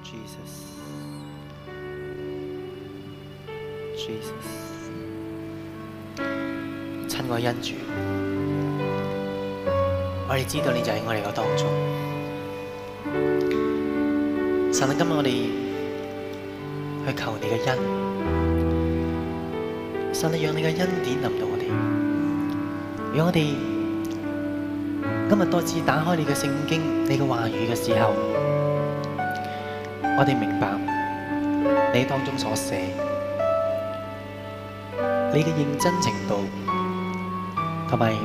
Jesus, Jesus，親愛恩主，我哋知道你就喺我哋個當中。神啊，今日我哋去求你嘅恩，神啊，讓你嘅恩典臨到我哋，讓我哋今日多次打開你嘅聖經、你嘅話語嘅時候，我哋明白你當中所寫，你嘅認真程度，同埋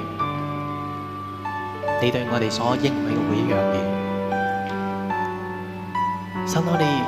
你對我哋所應許嘅每一樣嘢。神，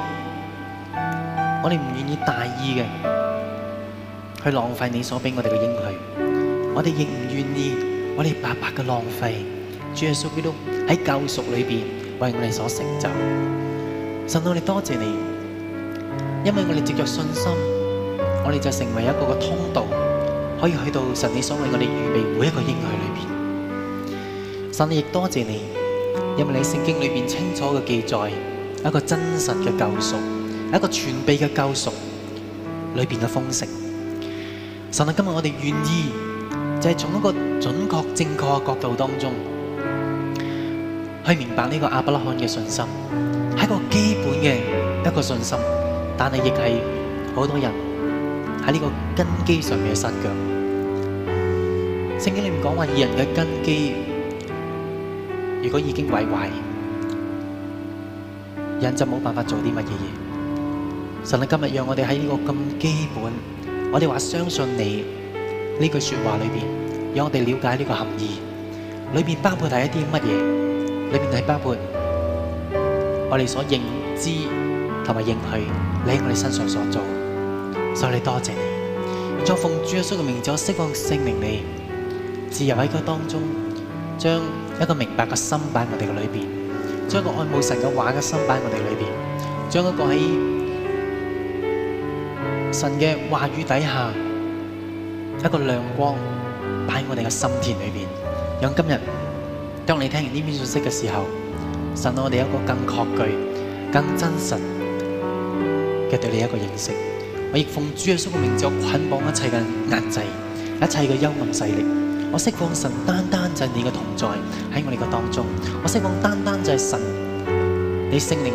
我哋唔願意大意嘅去浪費你所俾我哋嘅應許，我哋亦唔願意我哋白白嘅浪費主耶穌基督喺救贖裏邊為我哋所成就。神，我哋多謝你，因為我哋藉着信心，我哋就成為一個通道，可以去到神你所為我哋預備每一個應許裏邊。神，亦多謝你，因為你聖經裏邊清楚嘅記載一個真實嘅救贖，一個全備嘅救贖裏邊嘅豐盛。神啊，今日我哋願意就係從一個準確正確嘅角度當中去明白呢個亞伯拉罕嘅信心，係一個基本嘅一個信心，但係亦係好多人喺呢個根基上面嘅失腳。聖經裏面講話，義人嘅根基如果已經毀壞，人就冇辦法做啲乜嘢嘢。神啊，今日讓我哋喺呢個咁基本，我哋話相信你呢句說話裏邊，讓我哋了解呢個含義，裏邊包括係一啲乜嘢？裏邊係包括我哋所認知同埋認許你喺我哋身上所做。所以你多謝你，再奉主耶穌嘅名字，我釋放聖靈你自由喺佢當中，將一個明白嘅心擺喺我哋嘅裏邊，將一個愛慕神嘅話嘅心擺喺我哋裏邊，將一個喺神嘅話語底下一個亮光擺喺我哋嘅心田裏邊，讓今日當你聽完呢篇信息嘅時候，神我哋有一個更確據、更真實嘅對你一個認識。我亦奉主耶穌嘅名字，我捆綁一切嘅壓制、一切嘅幽暗勢力。我釋放神單單就係你嘅同在喺我哋嘅當中。我釋放單單就係神你聖靈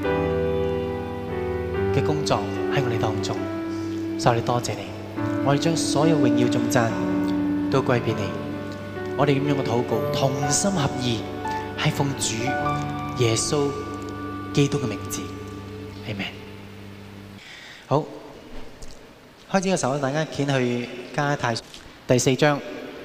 嘅工作喺我哋當中。所以我哋多謝你，我哋將所有榮耀頌讚都歸俾你。我哋咁樣嘅禱告，同心合意，係奉主耶穌基督嘅名字，阿們。好，開始嘅時候，大家掀去加拉太第4章。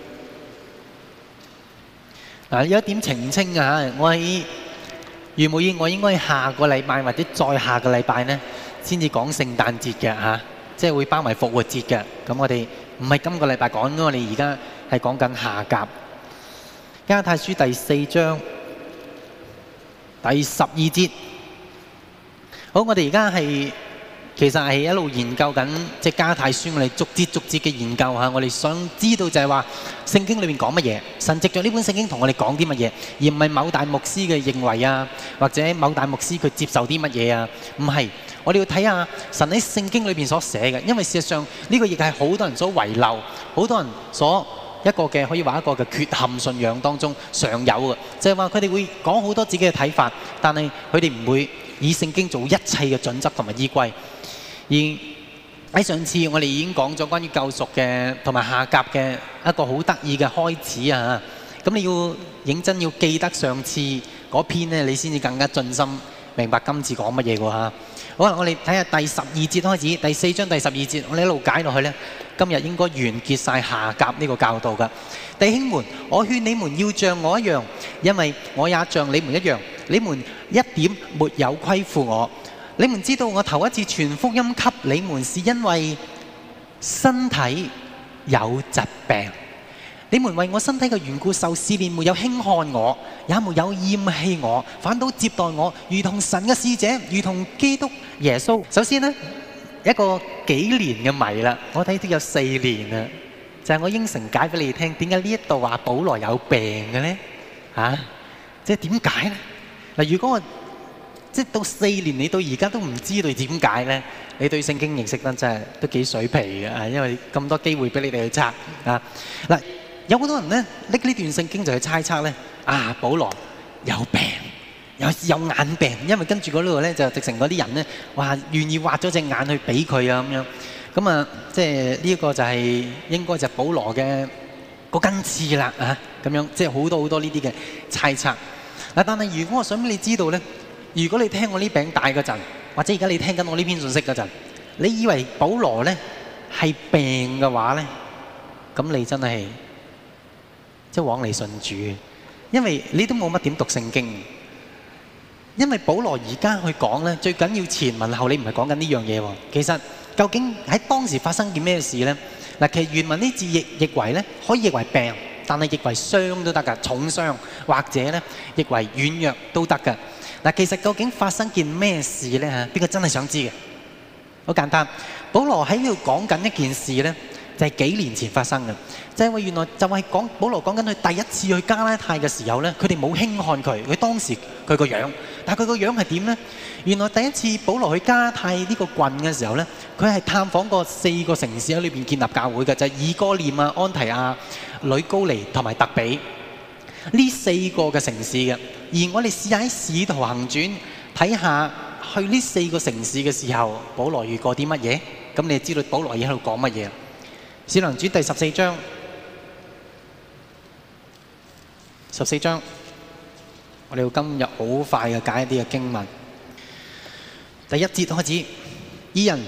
嗱，有一點澄清啊，我喺如無意外，我應該下個禮拜或者再下個禮拜呢，先至講聖誕節嘅嚇，即係會包埋復活節嘅。咁我哋唔係今個禮拜講，我哋而家係講緊夏甲。加拉太書第4章第12節。好，我哋而家係其實係一路研究緊即係加拉太書，我哋逐節嘅研究下，我哋想知道就係話聖經裏面講乜嘢，神藉著呢本聖經同我哋講啲乜嘢，而唔係某大牧師嘅認為啊，或者某大牧師佢接受啲乜嘢啊，唔係，我哋要睇下神喺聖經裏邊所寫嘅，因為事實上呢個亦係好多人所遺漏，好多人所一個嘅可以話一個嘅缺陷信仰當中常有嘅，就係話佢哋會講好多自己嘅睇法，但係佢哋唔會以聖經做一切嘅準則同埋依歸。而喺上次我哋已經講咗關於救贖嘅同埋夏甲嘅一個好得意嘅開始啊！咁你要認真要記得上次嗰篇呢，你先至更加盡心明白今次講乜嘢㗎嚇。好啦，我哋睇下第12節開始，第4章第12節，我哋一路解落去呢，今日應該完結晒夏甲呢個教導㗎。弟兄們，我勸你們要像我一樣，因為我也像你們一樣，你們一點沒有虧負我。你們知道我頭一次傳福音給你們，是因為身體有疾病。你們為我身體嘅緣故受試煉，沒有輕看我，也沒有厭棄我，反倒接待我，如同神嘅使者，如同基督耶穌。首先呢，一個幾年嘅謎啦，我睇都有4年啦，就係我應承解俾你哋聽，點解呢一度話保羅有病嘅呢？即係點解呢？嗱，如果我即係到4年，你到而家都唔知道點解咧？你對聖經認識得真係都幾水皮嘅啊！因為咁多機會俾你哋去測啊。嗱，有好多人咧拎呢段聖經就去猜測咧啊，保羅有病，有眼病，因為跟住嗰度咧就直情嗰啲人咧話願意挖咗隻眼去俾佢啊咁樣。咁啊，即係呢個就係應該就係保羅嘅嗰根刺啦啊！咁樣即係好多呢啲嘅猜測。嗱，但係如果我想俾你知道咧，如果你聽我呢餅帶嗰陣，或者而家你聽緊我呢篇信息嗰陣，你以為保羅咧係病嘅話咧，咁你真係即係枉嚟信主嘅，因為你都冇乜點讀聖經。因為保羅而家去講咧，最緊要前文後理，唔係講緊呢樣嘢喎。其實究竟喺當時發生件咩事咧？嗱，其實原文呢字譯為咧，可以譯為病，但係譯為傷都得㗎，重傷或者咧譯為軟弱都得㗎。嗱，其實究竟發生件咩事咧嚇？邊個真係想知嘅？好簡單，保羅喺呢度講緊一件事咧，就係幾年前發生嘅，就係話原來就係講保羅講緊佢第一次去加拉太嘅時候咧，佢哋冇輕看佢，佢當時佢個樣，但係佢個樣係點咧？原來第一次保羅去加拉太呢個郡嘅時候咧，佢係探訪過4個城市喺裏邊建立教會嘅，就係以哥念啊、安提亞、呂高尼同埋特比呢4個嘅城市嘅。而我哋試下喺《使徒行傳》睇下去呢4個城市嘅時候，保羅遇過啲乜嘢？咁你就知道保羅而喺度講乜嘢。《使徒行傳》第14章，14章，我哋要今日好快嘅解一啲嘅經文。第1節開始，義人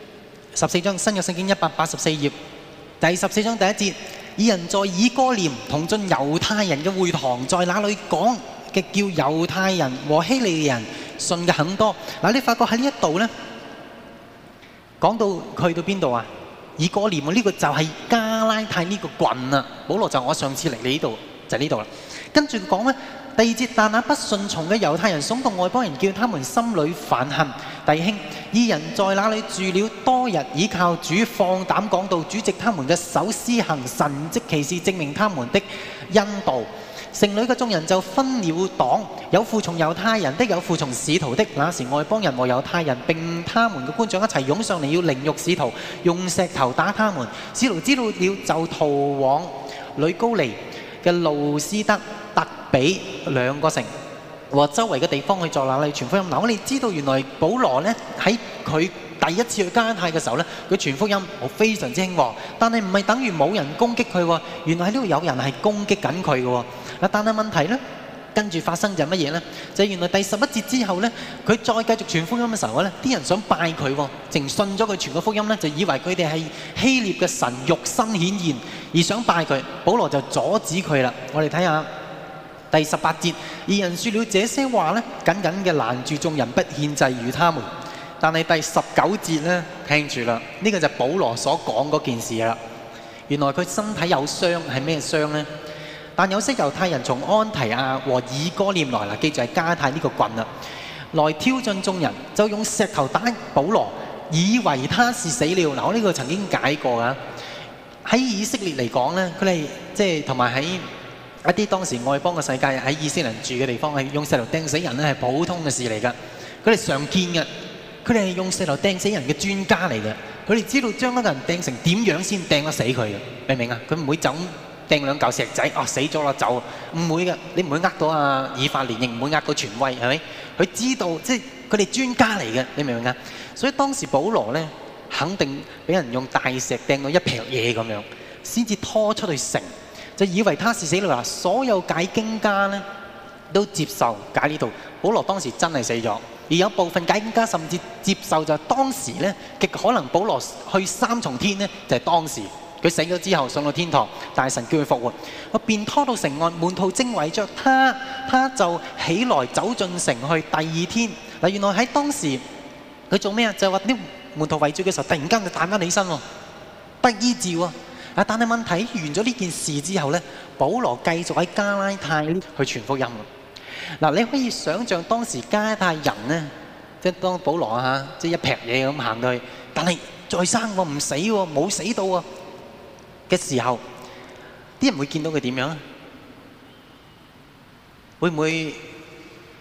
14章新約聖經184頁，第14章第1節，義人在以哥念同進猶太人嘅會堂，在那裏講嘅叫猶太人和希利人信嘅很多。嗱，你發覺喺呢一度咧，講到去到邊度啊？以哥念呢個就係加拉太呢個郡啊。保羅就我上次嚟你呢度就係呢度啦。跟住講咧，第2節，但那不順從嘅猶太人慫動外邦人，叫他們心裏煩恨。弟兄，義人在那裏住了多日，倚靠主，放膽講道，主藉他們嘅手施行神蹟奇事，證明他們的恩道。城裏嘅眾人就分了黨，有附從猶太人的，有附從使徒的。那時外邦人和猶太人並他們嘅官長一齊湧上嚟，要凌辱使徒，用石頭打他們。使徒知道了，就逃往呂高尼嘅路斯德、特比2個城和周圍嘅地方去作那裏傳福音。嗱，我哋知道原來保羅咧喺佢第一次去加拉太嘅時候咧，佢傳福音非常之興旺，但係唔係等於冇人攻擊佢喎。原來喺呢度有人係攻擊緊佢嘅喎。嗱，但係問題咧，跟住發生就係乜嘢咧？就係原來第11節之後咧，佢再繼續傳福音嘅時候咧，啲人想拜佢喎，淨信咗佢傳個福音咧，就以為佢哋係希臘嘅神肉身顯現而想拜佢。保羅就阻止佢啦。我哋睇下第18節，義人説了這些話咧，緊緊嘅攔住眾人不獻祭與他們。但係第19節咧，聽住啦，呢個就係保羅所講嗰件事啦。原來佢身體有傷，係咩傷咧？但有些猶太人從安提亞和以哥念來啦，記住係加拉太呢個郡啦，來挑戰眾人，就用石頭打保羅，以為他是死了。嗱，我呢個曾經解過噶。喺以色列嚟講咧，佢哋即係同埋喺一啲當時外邦嘅世界，喺以色列人住嘅地方，係用石頭掟死人咧係普通嘅事嚟噶。佢哋常見嘅，佢哋係用石頭掟死人嘅專家嚟嘅。佢哋知道將一個人掟成點樣先掟得死佢嘅，明唔明啊？佢唔會就掟2嚿石仔，死咗啦走，唔會嘅。你唔會呃到以法蓮，亦唔會呃到權威，係咪？佢知道，即係佢哋專家嚟嘅，你明唔明啊？所以當時保羅咧，肯定俾人用大石掟到一劈嘢咁樣，先至拖出去城，就以為他是死了。所有解經家咧都接受解呢度，保羅當時真係死咗，而有部分解經家甚至接受就係當時咧極可能保羅去3重天咧，就係當時。佢死咗之後上到天堂，大神叫佢復活，我便拖到城外，門徒正圍着他，他就起來走進城去。第2天嗱，原來喺當時佢做咩啊？就係話啲門徒圍住嘅時候，突然間就彈翻起身喎，得醫治喎。但係問題完咗呢件事之後咧，保羅繼續喺加拉太去傳福音。嗱，你可以想象當時加拉太人咧，即係當保羅即係一劈嘢咁行到去，但係再生喎，唔死喎，冇死到喎嘅時候，啲人會見到佢點樣啊？會唔會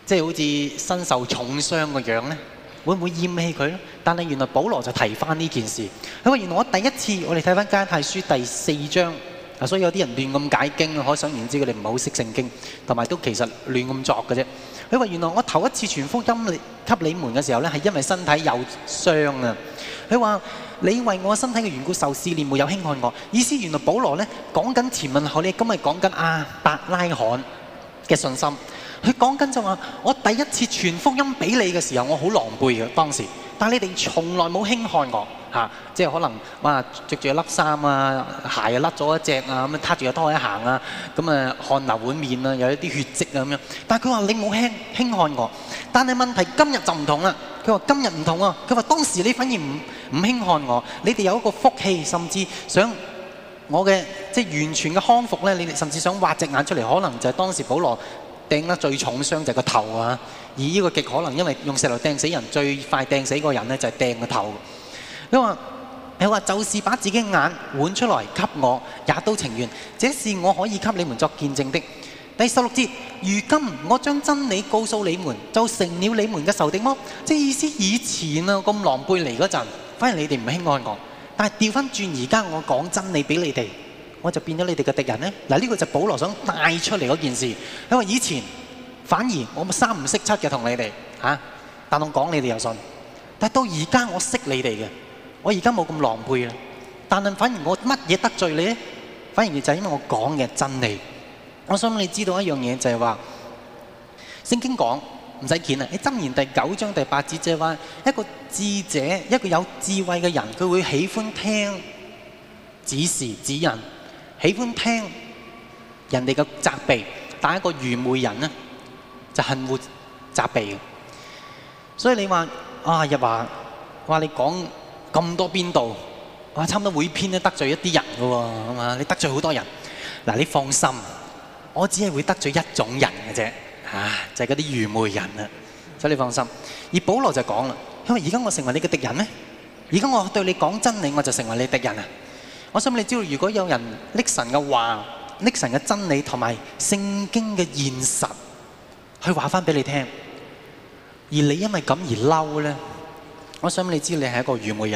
即係好似身受重傷個樣咧，會唔會厭棄佢咧？但係原來保羅就提翻呢件事，佢話原來我第一次，我哋睇翻加拉太書第4章，所以有啲人亂咁解經，可想而知佢哋唔係好識聖經，同埋都其實亂咁作嘅啫。佢話原來我頭一次傳福音給你們嘅時候咧，係因為身體有傷啊。佢話你為我身體嘅緣故受試煉，沒有輕看我。意思原來保羅咧講緊前文後理，今日講緊亞伯拉罕嘅信心。佢講緊就話，我第一次傳福音俾你嘅時候，我好狼狽嘅當時，但係你哋從來冇輕看我嚇，即係可能哇著住一粒衫啊，鞋啊甩咗一隻啊，咁樣撻住個拖鞋行啊，咁啊汗流滿面啊，有一啲血跡啊咁樣。但係佢話你冇輕看我，但係問題今日就唔同啦。佢話今日唔同啊，佢話當時你反而唔輕看我，你哋有一個福氣，甚至想我嘅即係完全嘅康復咧，你哋甚至想挖隻眼出嚟，可能就係當時保羅掟得最重傷就係個頭啊！而呢個極可能因為用石頭掟死人，最快掟死嗰個人咧就係掟個頭。佢話就是把自己眼換出來給我，也都情願。這是我可以給你們作見證的。第16節，如今我將真理告訴你們，就成了你們嘅仇敵麼？即係意思以前啊咁狼狽嚟嗰陣，反而你哋唔輕看我。但係調翻轉而家我講真理俾你哋，我就變咗你哋嘅敵人呢？嗱，呢個就保羅想帶出嚟嗰件事。因為以前反而我三唔識七嘅同你哋嚇，但我講你哋又信。但係到而家我識你哋嘅，我而家冇咁狼狽啦。但係反而我乜嘢得罪你呢？反而就係因為我講嘅真理。我想你知道一樣嘢就係話，聖經講唔使見啦，喺箴言第9章第8節就係話，一個智者，一個有智慧嘅人，佢會喜歡聽指示指引。喜歡聽人哋嘅責備，但係一個愚昧人呢，就恨惡責備嘅。所以你話啊，日華話你講咁多邊度，哇，差唔多每篇都得罪一啲人嘅喎，係嘛？你得罪好多人。嗱，你放心，我只係會得罪一種人嘅啫，就係嗰啲愚昧人啊。所以你放心。而保羅就講啦，因為而家我成為你嘅敵人咩？而家我對你講真理，我就成為你敵人啊！我想你知道，如果有人拎神嘅話、拎神嘅真理同埋聖經嘅現實去話翻俾你聽，而你因為咁而嬲咧，我想你知你係一個愚昧人。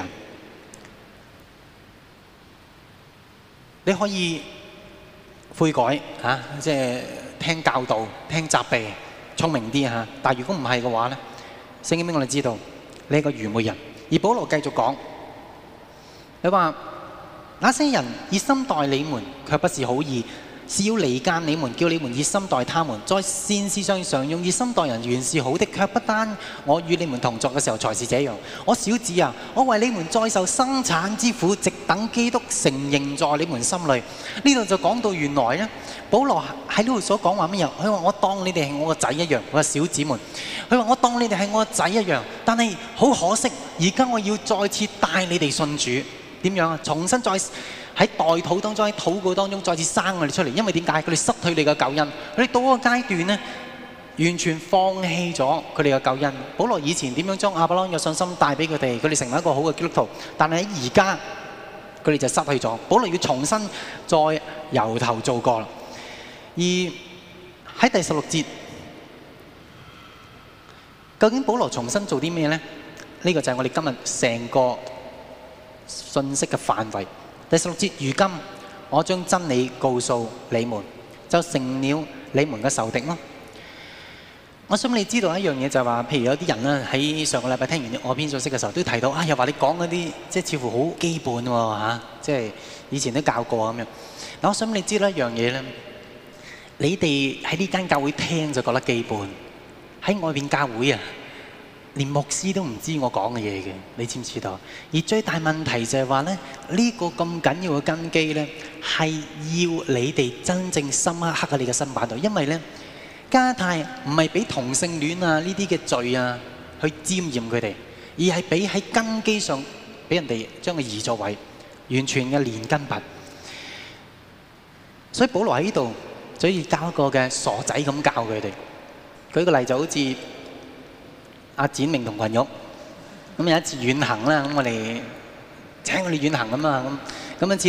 你可以悔改嚇，即係聽教導、聽責備，聰明啲嚇。但係如果唔係嘅話咧，聖經俾我哋知道你係一個愚昧人。而保羅繼續講，佢話：那些人熱心待你們，卻不是好意，是要離間你們，叫你們熱心待他們。在善事上常用熱心待人，原是好的，卻不單我與你們同作嘅時候才是這樣。我小子啊，我為你們再受生產之苦，直等基督成形在你們心裏。呢度就講到原來咧，保羅喺呢度所講話乜嘢？佢話我當你哋係我個仔一樣，我話小子們。佢話我當你哋係我個仔一樣，但係好可惜，而家我要再次帶你哋信主。點樣啊？重新再喺代禱當中、喺禱告當中再次生我哋出嚟。因為點解？佢哋失去你嘅救恩，佢哋到嗰個階段咧，完全放棄咗佢哋嘅救恩。保羅以前點樣將亞伯拉罕嘅信心帶俾佢哋，佢哋成為一個好嘅基督徒，但係喺而家佢哋就失去咗。保羅要重新再由頭做過啦。而喺第16節，究竟保羅重新做啲咩咧？呢個就係我哋今日成個信息嘅範圍。第16節，如今我將真理告訴你們，就成了你們嘅仇敵咯。我想你知道一樣嘢就係話，譬如有啲人咧喺上個禮拜聽完我篇信息嘅時候，都提到又話你講嗰啲即係似乎好基本喎，即係以前都教過咁樣。嗱，我想你知道一樣嘢咧，你哋喺呢間教會聽就覺得基本，喺外邊教會啊，連牧師都唔知我講嘅嘢嘅，你知唔知道？而最大問題就係話咧，呢個咁緊要嘅根基咧，係要你哋真正深刻刻喺你嘅心板度。因為咧，加太唔係俾同性戀啊呢啲嘅罪啊去沾染佢哋，而係俾喺根基上俾人哋將佢移作為完全嘅連根拔。所以保羅喺呢度就要教一個嘅傻仔咁教佢哋。舉個例就好似阿展明同群玉，咁有一次遠行啦，咁我哋請佢哋遠行咁啊，咁一次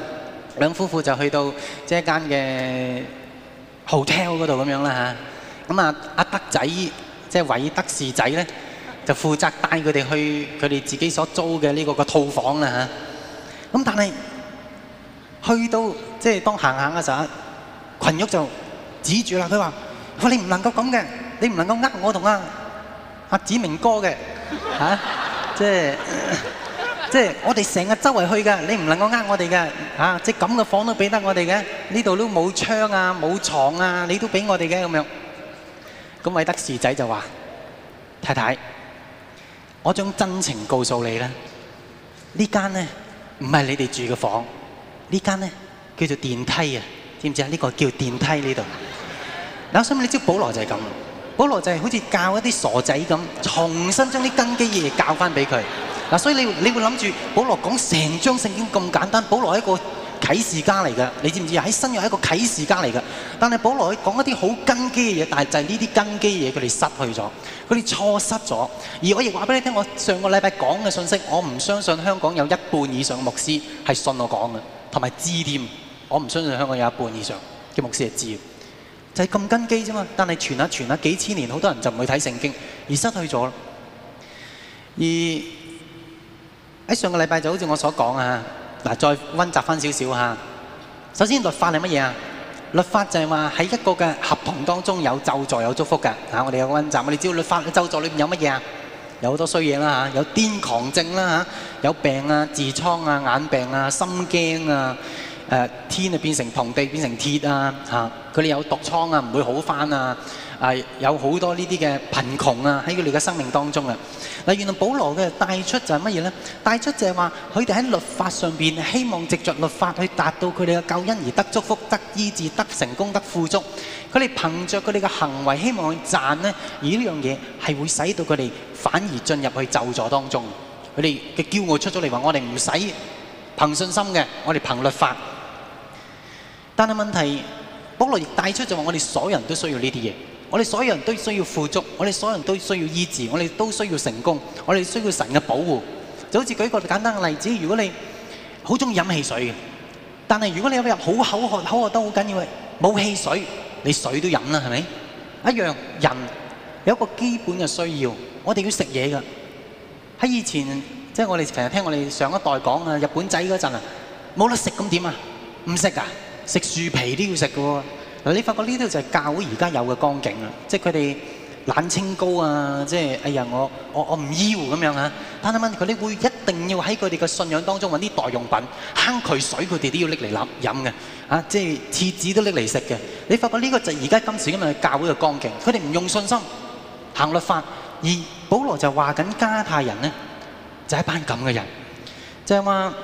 兩夫婦就去到即係一間嘅 hotel 嗰度咁樣啦嚇， 咁阿德仔即係韋德士仔咧，就負責帶佢哋去佢哋自己所租嘅呢個套房啦嚇。咁但係去到即係當行嘅時候，群玉就指住啦，佢話：你唔能夠咁嘅，你唔能夠呃我同阿子明哥嘅嚇，即係我哋成日周圍去㗎，你唔能夠呃我哋嘅嚇，即係咁嘅房都俾得我哋嘅，呢度都冇窗啊冇床啊，你都俾我哋嘅咁樣。咁韋德士仔就話：太太，我將真情告訴你啦，呢間呢唔係你哋住嘅房，呢間呢叫做電梯啊，知唔知啊？呢個叫電梯呢度。嗱，我想問你知保羅就係咁，保羅就係好似教一啲傻仔咁，重新將啲根基嘅嘢教翻俾佢。嗱，所以你會諗住保羅講成章聖經咁簡單，保羅係一個啟示家嚟㗎，你知唔知啊？喺新約係一個啟示家嚟㗎，但係保羅講一啲好根基嘅嘢，但係就係呢啲根基嘅嘢，佢哋失去咗，佢哋錯失咗。而我亦話俾你聽，我上個禮拜講嘅信息，我唔相信香港有一半以上嘅牧師係信我講嘅，同埋知添。我唔相信香港有一半以上嘅牧師係知，就係咁根基啫嘛。但係傳下幾千年，好多人就唔會睇聖經，而失去咗。而喺上個禮拜就好似我所講啊，嗱，再溫習翻少少嚇。首先律法係乜嘢啊？律法就係話喺一個嘅合同當中有咒詛有祝福㗎嚇。我哋有個溫習，我哋知道律法咒詛裏邊有乜嘢啊？有好多衰嘢啦嚇，有癲狂症啦嚇，有病啊、痔瘡啊、眼病啊、心驚啊。天啊變成銅，地變成鐵啊嚇！佢哋有毒瘡啊，唔會好返啊！有好多呢啲嘅貧窮啊喺佢哋嘅生命當中啊！嗱，原來保羅嘅帶出就係乜嘢咧？帶出就係話佢哋喺律法上邊希望藉着律法去達到佢哋嘅救恩而得祝福、得醫治、得成功、得富足。佢哋憑着佢哋嘅行為希望去賺呢，而呢樣嘢係會使到佢哋反而進入去咒詛當中。佢哋嘅驕傲出咗嚟話：我哋唔使憑信心嘅，我哋憑律法。但係問題，保羅亦帶出就話：我哋所有人都需要呢啲嘢，我哋所有人都需要富足，我哋所有人都需要醫治，我哋都需要成功，我哋需要神嘅保護。就好似舉一個簡單嘅例子，如果你好中意飲汽水嘅，但係如果你有一日好口渴得好緊要嘅，冇汽水，你水都飲啦，係咪？一樣，人有一個基本嘅需要，我哋要食嘢㗎。喺以前，即係我哋成日聽我哋上一代講啊，日本仔嗰陣啊，冇得食咁點啊？唔食啊？食樹皮都要食嘅喎。嗱，你發覺呢啲就係教會而家有嘅光景啦，即係佢哋懶清高啊，即係哎呀我唔要咁樣啊。但係問佢哋會一定要喺佢哋嘅信仰當中揾啲代用品，坑渠水佢哋都要拎嚟飲嘅，啊，即係廁紙都拎嚟食嘅。你發覺呢個就係而家今時今日嘅教會嘅光景，佢哋唔用信心行律法，而保羅就話緊加拉太人呢，就係一班咁嘅人，就係話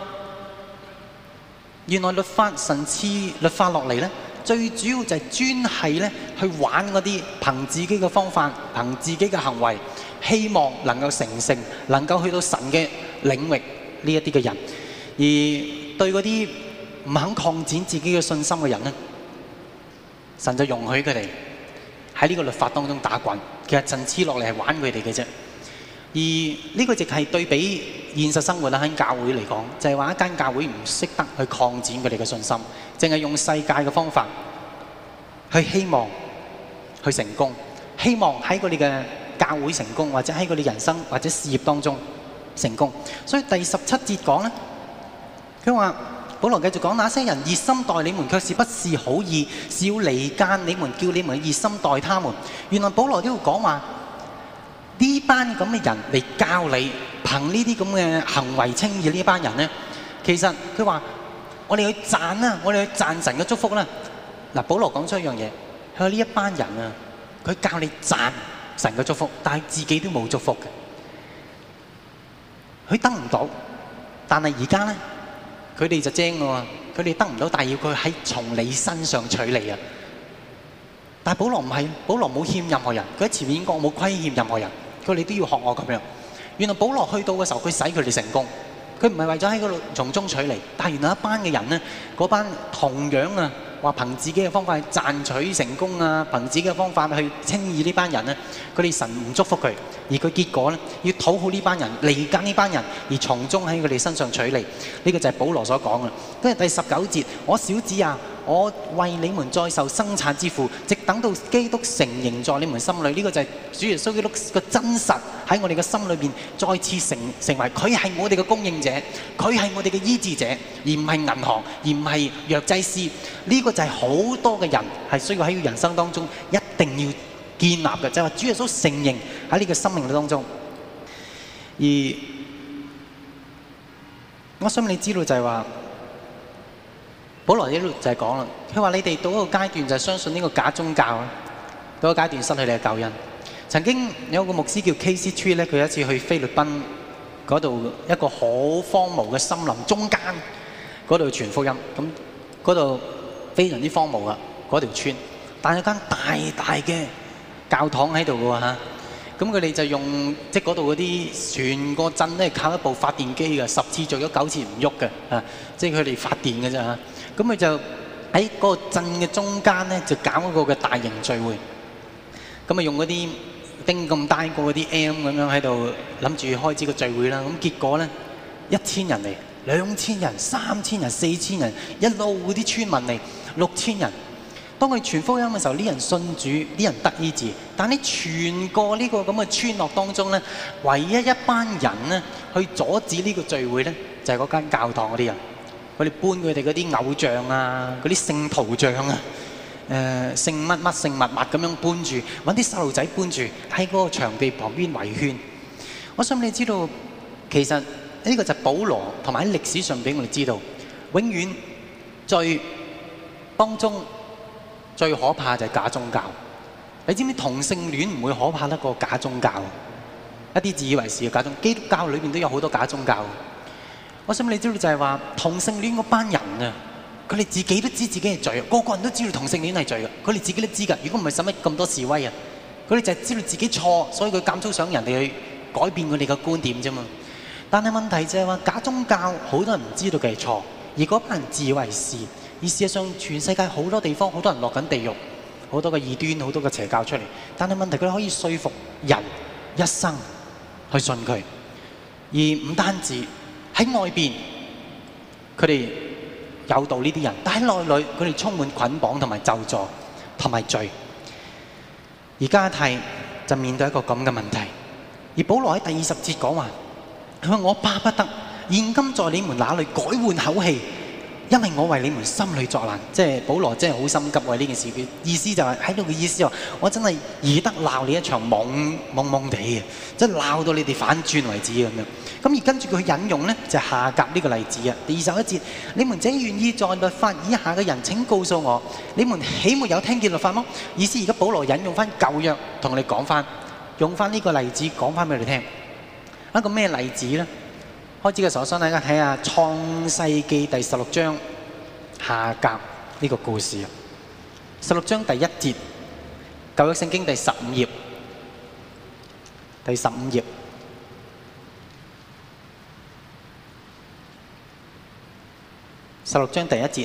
原來律法神賜律法落嚟咧，最主要就係專係咧去玩嗰啲憑自己嘅方法、憑自己嘅行為，希望能夠成聖、能夠去到神嘅領域呢一啲嘅人，而對嗰啲唔肯擴展自己嘅信心嘅人咧，神就容許佢哋喺呢個律法當中打滾。其實神賜落嚟係玩佢哋嘅啫。而呢個亦係對比現實生活啦，喺教會嚟講，就係話一間教會唔識得去擴展佢哋嘅信心，淨係用世界嘅方法去希望去成功，希望喺佢哋嘅教會成功，或者喺佢哋人生或者事業當中成功。所以第17節講咧，佢話保羅繼續講：那些人熱心待你們，卻是不是好意，是要離間你們，叫你們熱心待他們。原來保羅都要講話。呢班咁嘅人嚟教你，憑呢啲咁嘅行為稱義呢班人咧，其實佢話：我哋去賺啦，我哋去賺神嘅祝福啦。嗱，保羅講出一樣嘢，佢話呢一班人啊，佢教你賺神嘅祝福，但係自己都冇祝福嘅，佢得唔到。但係而家咧，佢哋就精喎，佢哋得唔到，但係要佢喺從你身上取嚟啊！但係保羅唔係，保羅冇欠任何人，佢喺前面講我冇虧欠任何人。佢哋都要學我咁樣。原來保羅去到嘅時候，佢使佢哋成功。佢唔係為咗喺嗰度從中取利，但係原來一班嘅人呢，嗰班同樣啊，話憑自己嘅方法去賺取成功啊，憑自己嘅方法去稱義呢班人呢，佢哋神唔祝福佢，而佢結果呢，要討好呢班人，離間呢班人，而從中喺佢哋身上取利。呢個就係保羅所講嘅。跟住第19節，我小子啊， 我為你們再受生產之苦，直等到基督成形在你們心裏。呢個就係主耶穌基督嘅真實喺我哋嘅心裏邊再次成為佢係我哋嘅供應者，佢係我哋嘅醫治者，而唔係銀行，而唔係藥劑師。呢個就係好多嘅人係需要喺人生當中一定要建立嘅，就係話主耶穌成形喺你嘅生命當中。而我想你知道就係話，保羅呢度就係講啦，佢話你哋到一個階段就係相信呢個假宗教啦，到一個階段失去你嘅救恩。曾經有個牧師叫 K.C. Tree 咧，佢有一次去菲律賓嗰度一個好荒蕪嘅森林中間嗰度傳福音，咁嗰度非常之荒蕪啊嗰條村，但係有間大嘅教堂喺度嘅喎嚇。咁佢哋就用即係嗰度嗰啲全個鎮咧靠一部發電機嘅，10次做咗9次唔喐嘅啊！即係佢哋發電嘅啫嚇。咁佢就喺嗰個鎮嘅中間咧，就搞一個嘅大型聚會。咁啊用嗰啲釘咁大個嗰啲 M 咁樣喺度諗住開始個聚會啦。咁結果咧，1000人嚟，2000人、3000人、4000人，一路嗰啲村民嚟，6000人。當佢傳福音嘅時候，啲人信主，啲人得醫治。但係全個呢個咁嘅村落當中咧，唯一一班人咧去阻止呢個聚會咧，就係嗰間教堂嗰啲人。佢哋搬佢哋嗰啲偶像啊，嗰啲聖圖像啊，聖乜乜聖物物咁樣搬住，揾啲細路仔搬住喺嗰個場地旁邊圍圈。我想你知道，其實呢個就係保羅同埋喺歷史上俾我哋知道，永遠最當中最可怕就係假宗教。你知唔知同性戀唔會可怕得過假宗教？一啲自以為是嘅假宗教，基督教裏邊都有好多假宗教。我想你知道就係話同性戀嗰班人啊，佢哋自己都知自己係罪，個個人都知道同性戀係罪嘅，佢哋自己都知㗎。如果唔係使乜咁多示威啊？佢哋就係知道自己錯，所以佢監督想人哋去改變佢哋嘅觀點啫嘛。但係問題就係話假宗教好多人唔知道佢係錯，而嗰班人自以為是。而事實上，全世界好多地方好多人落緊地獄，好多嘅異端，好多嘅邪教出嚟。但係問題佢可以說服人一生去信佢，而唔單止喺外邊佢哋誘導呢啲人，但喺內裏佢哋充滿捆綁同埋咒詛同埋罪。而加太就面對一個咁嘅問題，而保羅喺第20節講話，佢話我巴不得現今在你們那裏改換口氣，因為我為你們心裏作難。即係保羅真係好心急為呢件事，佢意思就係喺度嘅意思就話，我真係宜得鬧你一場懵地嘅，即係鬧到你哋反轉為止咁樣。咁而跟住佢引用呢，就係夏甲呢個例子啊。第21節，你們這願意在律法以下嘅人，請告訴我，你們豈沒有聽見律法麼？意思而家保羅引用翻舊約同你講翻，用翻呢個例子講翻俾你聽。一個咩例子呢？開始嘅時候，我想大家睇下《創世記》第16章夏甲呢個故事。16章第1節，舊約聖經第15頁，第15頁。16章第1節，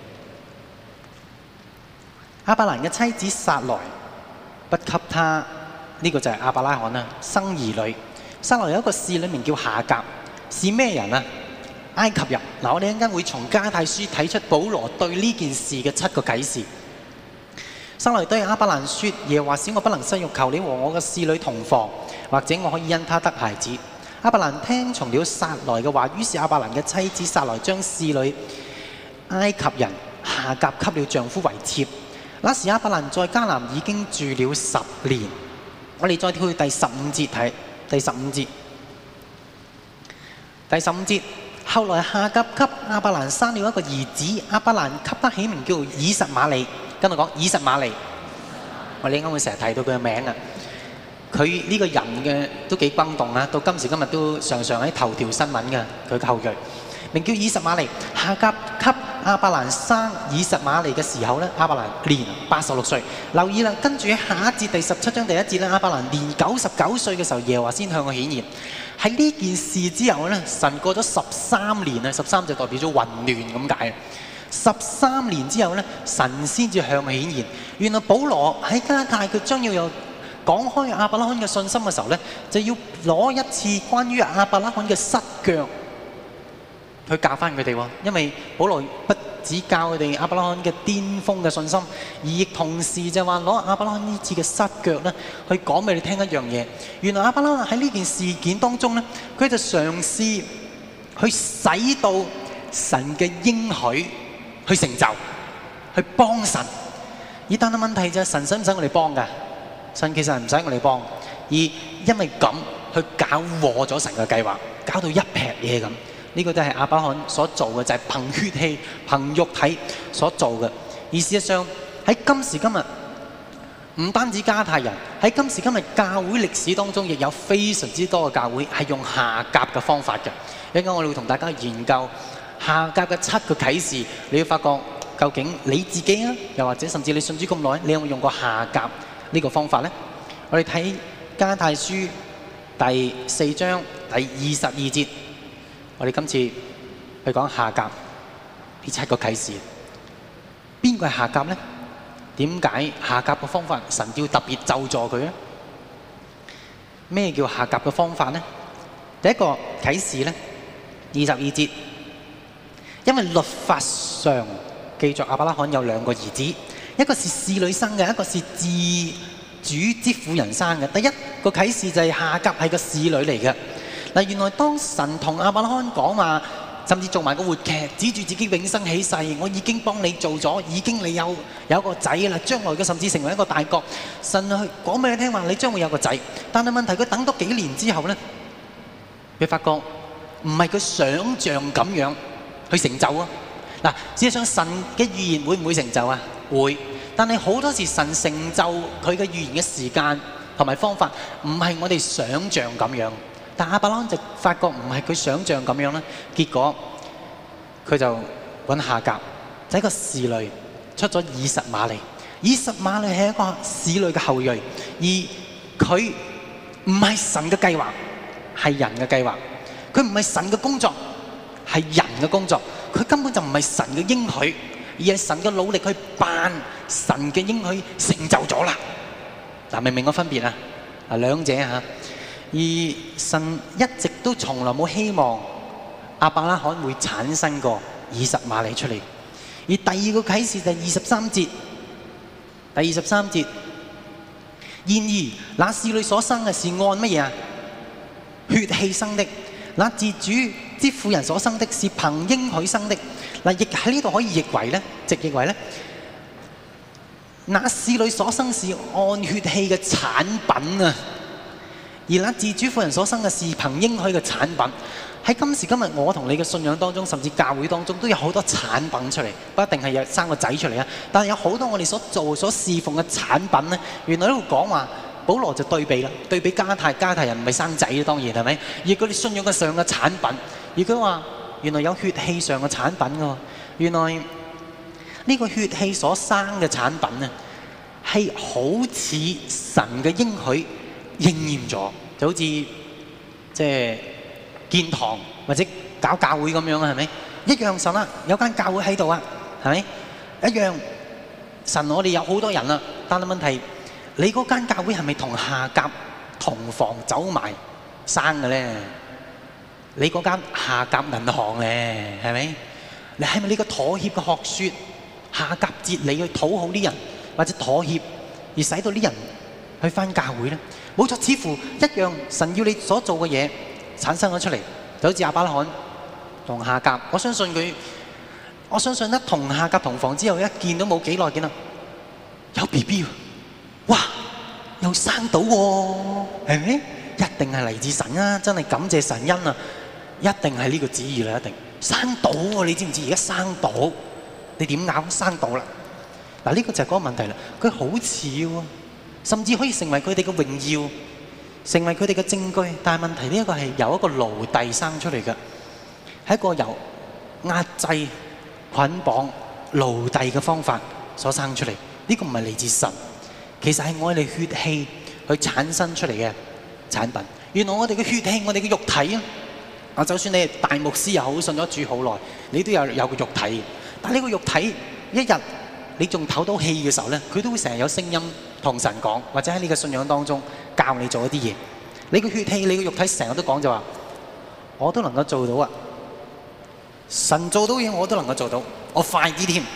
亞伯蘭嘅妻子撒萊不給他，呢個就係亞伯拉罕啦，生兒女。撒萊有一個侍女名叫夏甲，是咩人啊？埃及人。嗱，我哋一陣間會從加太書睇出保羅對呢件事嘅7個啟示。撒萊對亞伯蘭說：耶和華使我不能生育，求你和我嘅侍女同房，或者我可以因他得孩子。亞伯蘭聽從了撒萊嘅話，於是亞伯蘭嘅妻子撒萊將侍女埃及人夏甲給了丈夫為妾。那時亞伯蘭在迦南已經住了10年。我哋再跳去第15節睇，第15節。第15節，後來夏甲給亞伯蘭生了一個兒子，亞伯蘭給他起名叫以實瑪利。跟我講以實瑪利，我哋應該會成日提到佢嘅名啊。佢呢個人嘅都幾轟動啊，到今時今日都常常喺頭條新聞嘅。佢嘅後裔名叫以實瑪利。夏甲給亞伯蘭生以實瑪利嘅時候咧，亞伯蘭年86歲。留意啦，跟住喺下一節第17章第1節咧，亞伯蘭年99歲嘅時候，耶和華先向佢顯現。喺呢件事之後咧，神過咗13年啊，13就代表咗混亂咁解。13年之後咧，神先至向佢顯現。原來保羅喺加太佢將要有講開亞伯拉罕嘅信心嘅時候咧，就要攞一次關於亞伯拉罕嘅失腳去教翻佢哋喎。因為保羅不指教佢哋亞伯拉罕嘅巔峰嘅信心，而亦同時就話攞亞伯拉罕呢次嘅失腳咧，去講俾你聽一樣嘢。原來亞伯拉罕喺呢件事件當中咧，佢就嘗試去使到神嘅應許去成就，去幫神。而但係問題就係神使唔使我哋幫㗎？神其實係唔使我哋幫，而因為咁去搞禍咗神嘅計劃，搞到一撇嘢咁。呢個都係亞伯拉罕所做嘅，就係憑血氣、憑肉體所做嘅。而事實上喺今時今日，唔單止加太人，喺今時今日教會歷史當中，亦有非常之多嘅教會係用夏甲嘅方法嘅。一陣間我哋會同大家研究夏甲嘅7個啟示，你會發覺究竟你自己啊，又或者甚至你信主咁耐，你有冇用過夏甲呢個方法呢？我哋睇加太書第4章第22節。我哋今次去講夏甲呢7個啟示，邊個係夏甲呢？點解夏甲嘅方法神要特別咒詛佢呢？咩叫夏甲嘅方法呢？第一個啟示呢，22節，因為律法上記著亞伯拉罕有2個兒子，一個是侍女生嘅，一個是自主之婦人生嘅。第一個啟示就係夏甲係個侍女嚟嘅。嗱，原來當神同亞伯拉罕講話，甚至做埋個活劇，指住自己永生起誓，我已經幫你做咗，已經你有一個仔啦，將來嘅甚至成為一個大國。神去講俾你聽話，你將會有個仔。但係問題佢等多幾年之後咧，佢發覺唔係佢想像咁樣去成就啊！嗱，事實上神嘅預言會唔會成就啊？會，但係好多時神成就佢嘅預言嘅時間同埋方法，唔係我哋想像咁樣。但亞伯拉罕就發覺唔係佢想像咁樣啦，結果佢就揾夏甲，就係一個侍女出咗以實瑪利。以實瑪利係一個侍女嘅後裔，而佢唔係神嘅計劃，係人嘅計劃。佢唔係神嘅工作，係人嘅工作。佢根本就唔係神嘅應許，而係神嘅努力去辦神嘅應許成就咗啦。嗱，明唔明個分別啊？啊，兩者嚇。而神一直都從來冇希望亞伯拉罕會產生過以實瑪利出嚟。而第二個啟示就係23節，第23節。然而那侍女所生嘅是按乜嘢啊？血氣生的。那自主之婦人所生的是憑應許生的。嗱，亦喺呢度可以譯為咧，直譯為咧，那侍女所生是按血氣嘅產品啊。而那自主婦人所生嘅是憑應許嘅產品。喺今時今日，我同你嘅信仰當中，甚至教會當中，都有好多產品出嚟，不一定係有生個仔出嚟啊。但係有好多我哋所做、所侍奉嘅產品咧，原來喺度講話，保羅就對比啦，對比加太人唔係生仔，當然係咪？而佢哋信仰嘅上嘅產品，而佢話原來有血氣上嘅產品㗎喎。原來呢個血氣所生嘅產品咧，係好似神嘅應許應驗咗，就好似即係建堂或者搞教會咁樣啊，係咪？一樣神啊，有間教會喺度啊，係咪？一樣神，我哋有好多人啦，但係問題，你嗰間教會係咪同夏甲同房走埋生嘅咧？你嗰間夏甲銀行咧，係咪？你係咪呢個妥協嘅學説？夏甲哲理去討好啲人，或者妥協而使到啲人去返教會咧？冇錯，似乎一樣，神要你所做嘅嘢產生咗出嚟，就好似亞伯拉罕同夏甲。我相信一同夏甲同房之後，一見到冇幾耐，見到有 BB 喎，哇，又生到喎，係咪？一定係嚟自神啊！真係感謝神恩啊！一定係呢個旨意啦，一定生到喎！你知唔知而家生到？你點咬生到啦？嗱，呢個就係嗰個問題啦。佢好似喎。甚至可以成為佢哋嘅榮耀，成為佢哋嘅證據。但係問題呢一個係由一個奴隸生出嚟嘅，係一個由壓制、捆綁、奴隸嘅方法所生出嚟。呢個唔係嚟自神，其實係我哋血氣去產生出嚟嘅產品。原來我哋嘅血氣，我哋嘅肉體啊，就算你係大牧師又好，信咗主好耐，你都有個肉體。但係呢個肉體一日你仲唞到氣嘅時候咧，佢都會成日有聲音同神講，或者喺你嘅信仰當中教你做一啲嘢。你個血氣、你個肉體成日都講就話，我都能夠做到啊！ 神做到嘢，我都能夠做到，我快啲添。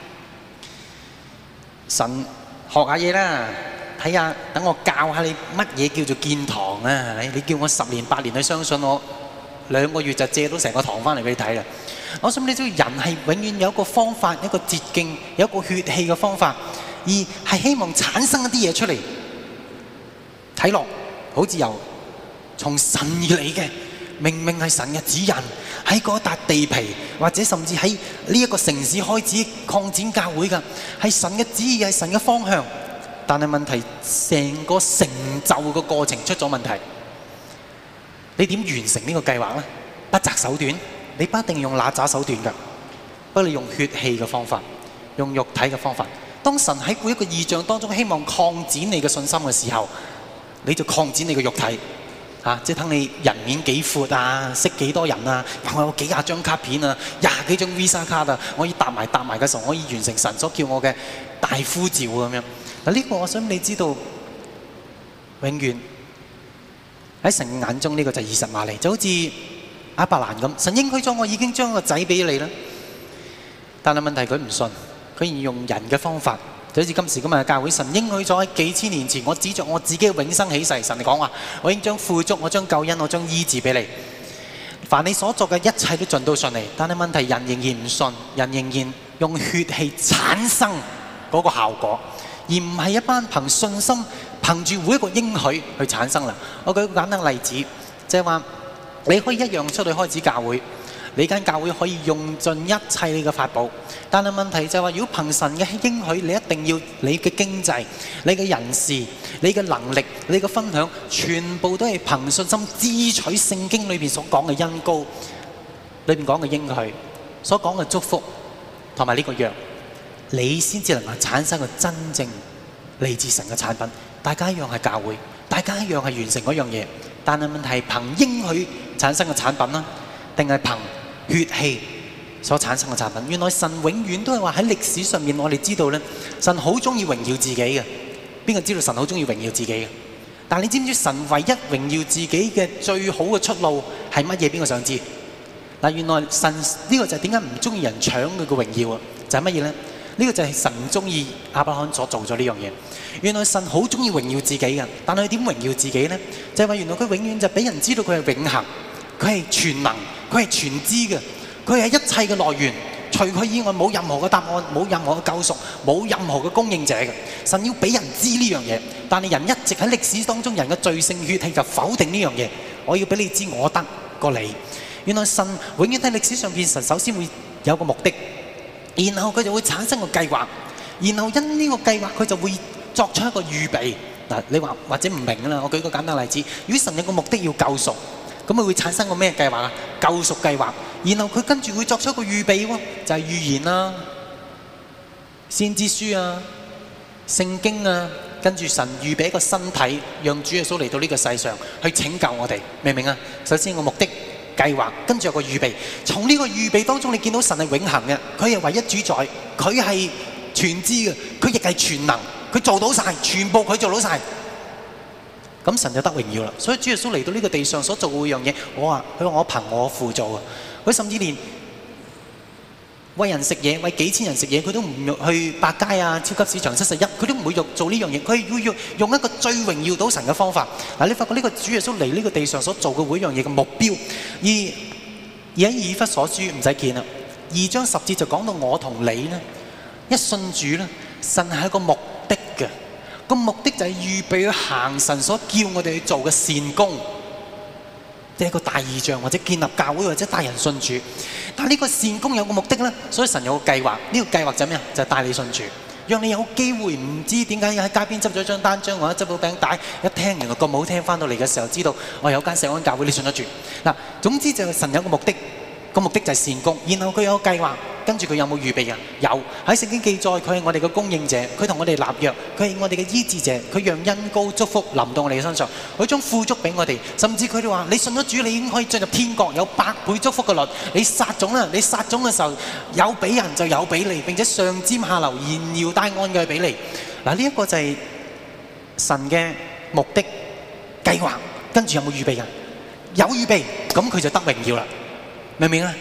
神學下嘢啦，睇下，等我教下你乜嘢叫做建堂啊？你叫我10年8年去相信我，2個月就借到成個堂翻嚟俾你睇啦。我想你知道人係永遠有一個方法，一個捷徑，有一個血氣嘅方法，而係希望產生一啲嘢出嚟，睇落好似由從神而嚟嘅，明明係神嘅指引，喺嗰笪地皮或者甚至喺呢一個城市開始擴展教會㗎，係神嘅旨意，係神嘅方向。但係問題，成個成就嘅過程出咗問題。你點完成呢個計劃呢？不擇手段，你不一定用哪吒手段㗎，不過你用血氣嘅方法，用肉體嘅方法。當神喺每一個異象當中希望擴展你嘅信心嘅時候，你就擴展你嘅肉體。即係睇你人面幾闊啊，識幾多人啊，我有幾廿張卡片啊，20幾張 Visa 卡啊，我可以搭埋嘅時候，我可以完成神所叫我嘅大呼召咁樣。嗱，呢個我想你知道，永遠喺神嘅眼中呢個就係以實瑪利，就好似亞伯蘭咁，神應許咗我已經將個仔俾你啦，但係問題佢唔信，佢要用人嘅方法。就好似今時今日嘅教會，神應許咗喺幾千年前，我指着我自己嘅永生起誓，神嚟講話，我已經將富足，我將救恩，我將醫治俾你。凡你所做嘅一切都盡到順利，但係問題人仍然唔信，人仍然用血氣產生嗰個效果，而唔係一班憑信心憑住每一個應許去產生啦。我舉一個簡單例子，即係話你可以一樣出去開始教會。你間教會可以用盡一切你嘅法寶，但係問題就係話，如果憑神嘅應許，你一定要你嘅經濟、你嘅人事、你嘅能力、你嘅分享，全部都係憑信心支取聖經裏面所講嘅恩膏，裏面講嘅應許，所講嘅祝福同埋呢個約，你先至能夠產生個真正嚟自神嘅產品。大家一樣係教會，大家一樣係完成嗰樣嘢，但係問題係憑應許產生嘅產品啦，定係憑血氣所產生嘅產品。原來神永遠都係話喺歷史上面，我哋知道咧，神好中意榮耀自己嘅。邊個知道神好中意榮耀自己嘅？但係你知唔知神唯一榮耀自己嘅最好嘅出路係乜嘢？邊個想知？嗱，原來神呢個就係點解唔中意人搶佢嘅榮耀啊？就係乜嘢咧？呢個就係神唔中意亞伯拉罕所做咗呢樣嘢。原來神好中意榮耀自己嘅，但係佢點榮耀自己咧？就係話原來佢永遠就俾人知道佢係永恆，佢係全能。佢係全知嘅，佢係一切嘅來源，除佢以外冇任何嘅答案，冇任何嘅救贖，冇任何嘅供應者嘅。神要俾人知呢樣嘢，但係人一直喺歷史當中，人嘅罪性血氣就否定呢樣嘢。我要俾你知，我得過你。原來神永遠喺歷史上邊，神首先會有個目的，然後佢就會產生個計劃，然後因呢個計劃佢就會作出一個預備。嗱，你話或者唔明啦，我舉個簡單例子，如果神有個目的要救贖，咁佢會產生個咩計劃啊？救贖計劃，然後佢跟住會作出一個預備喎，就係預言啦、先知書啊、聖經啊，跟住神預備一個身體，讓主耶穌嚟到呢個世上去拯救我哋，明唔明啊？首先個目的計劃，跟住有個預備。從呢個預備當中，你見到神係永恆嘅，佢係唯一主宰，佢係全知嘅，佢亦係全能，佢做到晒，全部佢做到晒。咁神就得榮耀啦。所以主耶穌嚟到呢個地上所做嘅樣嘢，佢話我憑我父做啊。佢甚至連餵人食嘢，餵幾千人食嘢，佢都唔去百佳啊、超級市場71，佢都唔會做呢樣嘢。佢要用一個最榮耀到神嘅方法。嗱，你發覺呢個主耶穌嚟呢個地上所做嘅每樣嘢嘅目標，而喺以弗所書唔使見啦，2章10節就講到我同你咧，一信主咧，神係一個目的嘅。個目的就係預備去行神所叫我哋去做嘅善功，即係一個大異象，或者建立教會，或者帶人信主。但係呢個善功有個目的咧，所以神有個計劃。呢個計劃就係咩啊？就係帶你信主，讓你有機會唔知點解喺街邊執咗張單張或者執到餅帶，一聽原來咁好聽，翻到嚟嘅時候知道我有間錫安教會，你信得住。嗱，總之就係神有個目的。個目的就係善功，然後佢有個計劃，跟住佢有冇預備啊？有，喺聖經記載，佢係我哋嘅供應者，佢同我哋立約，佢係我哋嘅醫治者，佢讓恩膏祝福臨到我哋嘅身上，佢將富足俾我哋，甚至佢哋話：你信咗主，你已經可以進入天國，有100倍祝福嘅律。你撒種啦，你撒種嘅時候有俾人就有俾你，並且上尖下流，連搖帶按嘅俾你。嗱，呢一個就係神嘅目的計劃，跟住有冇預備啊？有預備，咁佢就得榮耀啦。明唔明啊？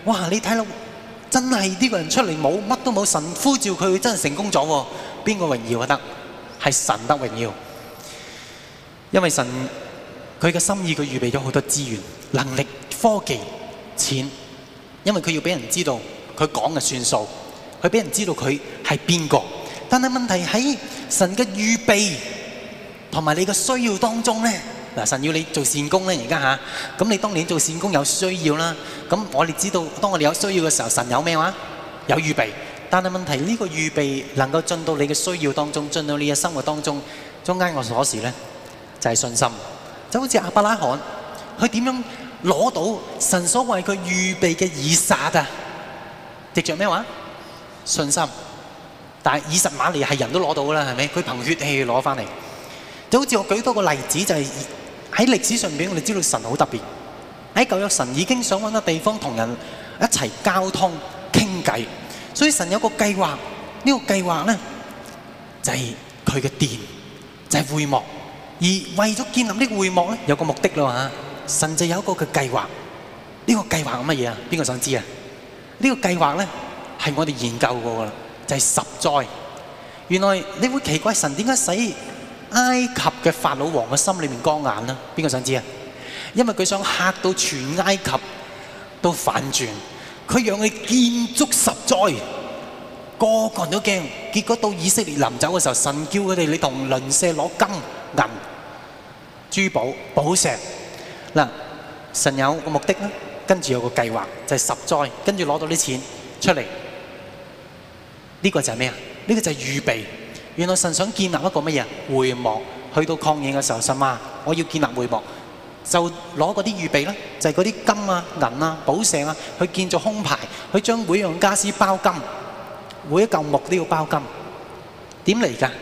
哇！你睇到真係呢個人出嚟冇乜都冇，神呼召佢真係成功咗喎。邊個榮耀啊？得係神得榮耀，因為神佢嘅心意，佢預備咗好多資源、能力、科技、錢，因為佢要俾人知道佢講嘅算數，佢俾人知道佢係邊個。但係問題喺神嘅預備同埋你嘅需要當中咧。嗱，神要你做善工咧，而家嚇，咁你當年做善工有需要啦。咁我哋知道，當我哋有需要嘅時候，神有咩話？有預備。但係問題呢個預備能夠進到你嘅需要當中，進到你嘅生活當中，中間個鎖匙咧就係信心。就好似亞伯拉罕，佢點樣攞到神所為佢預備嘅以撒啊？藉著咩話？信心。但係以實瑪利係人都攞到㗎啦，係咪？佢憑血氣攞翻嚟。就好似我舉多個例子，就係喺歷史上邊，我哋知道神好特別。喺舊約，神已經想揾個地方同人一齊交通傾偈，所以神有個計劃。呢個計劃咧就係佢嘅殿，就係會幕。而為咗建立呢個會幕咧，有個目的啦嘛。神就有一個嘅計劃。呢個計劃係乜嘢啊？邊個想知啊？呢個計劃咧係我哋研究過噶啦，就係十災。原來你會奇怪神點解使埃及嘅法老王嘅心裏面光眼呢？邊個想知啊？因為佢想嚇到全埃及都反轉，佢讓佢建築十災，個個人都驚。結果到以色列臨走嘅時候，神叫佢哋你同鄰舍攞金銀珠寶寶石。嗱，神有個目的啦，跟住有個計劃，就係十災，跟住攞到啲錢出嚟。呢個就係咩啊？呢個就係預備。原來神想建立一個乜嘢會幕，去到曠野嘅時候，神話我要建立會幕，就攞嗰啲預備啦，就係嗰啲金啊、銀啊、寶石啊，去建造胸牌，去將每樣家私包金，每一嚿木都要包金。點嚟㗎？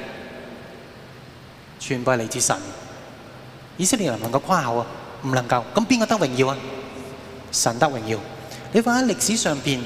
全部係嚟自神。以色列人能夠誇口啊？唔能夠。咁邊個得榮耀啊？神得榮耀。你話喺歷史上邊，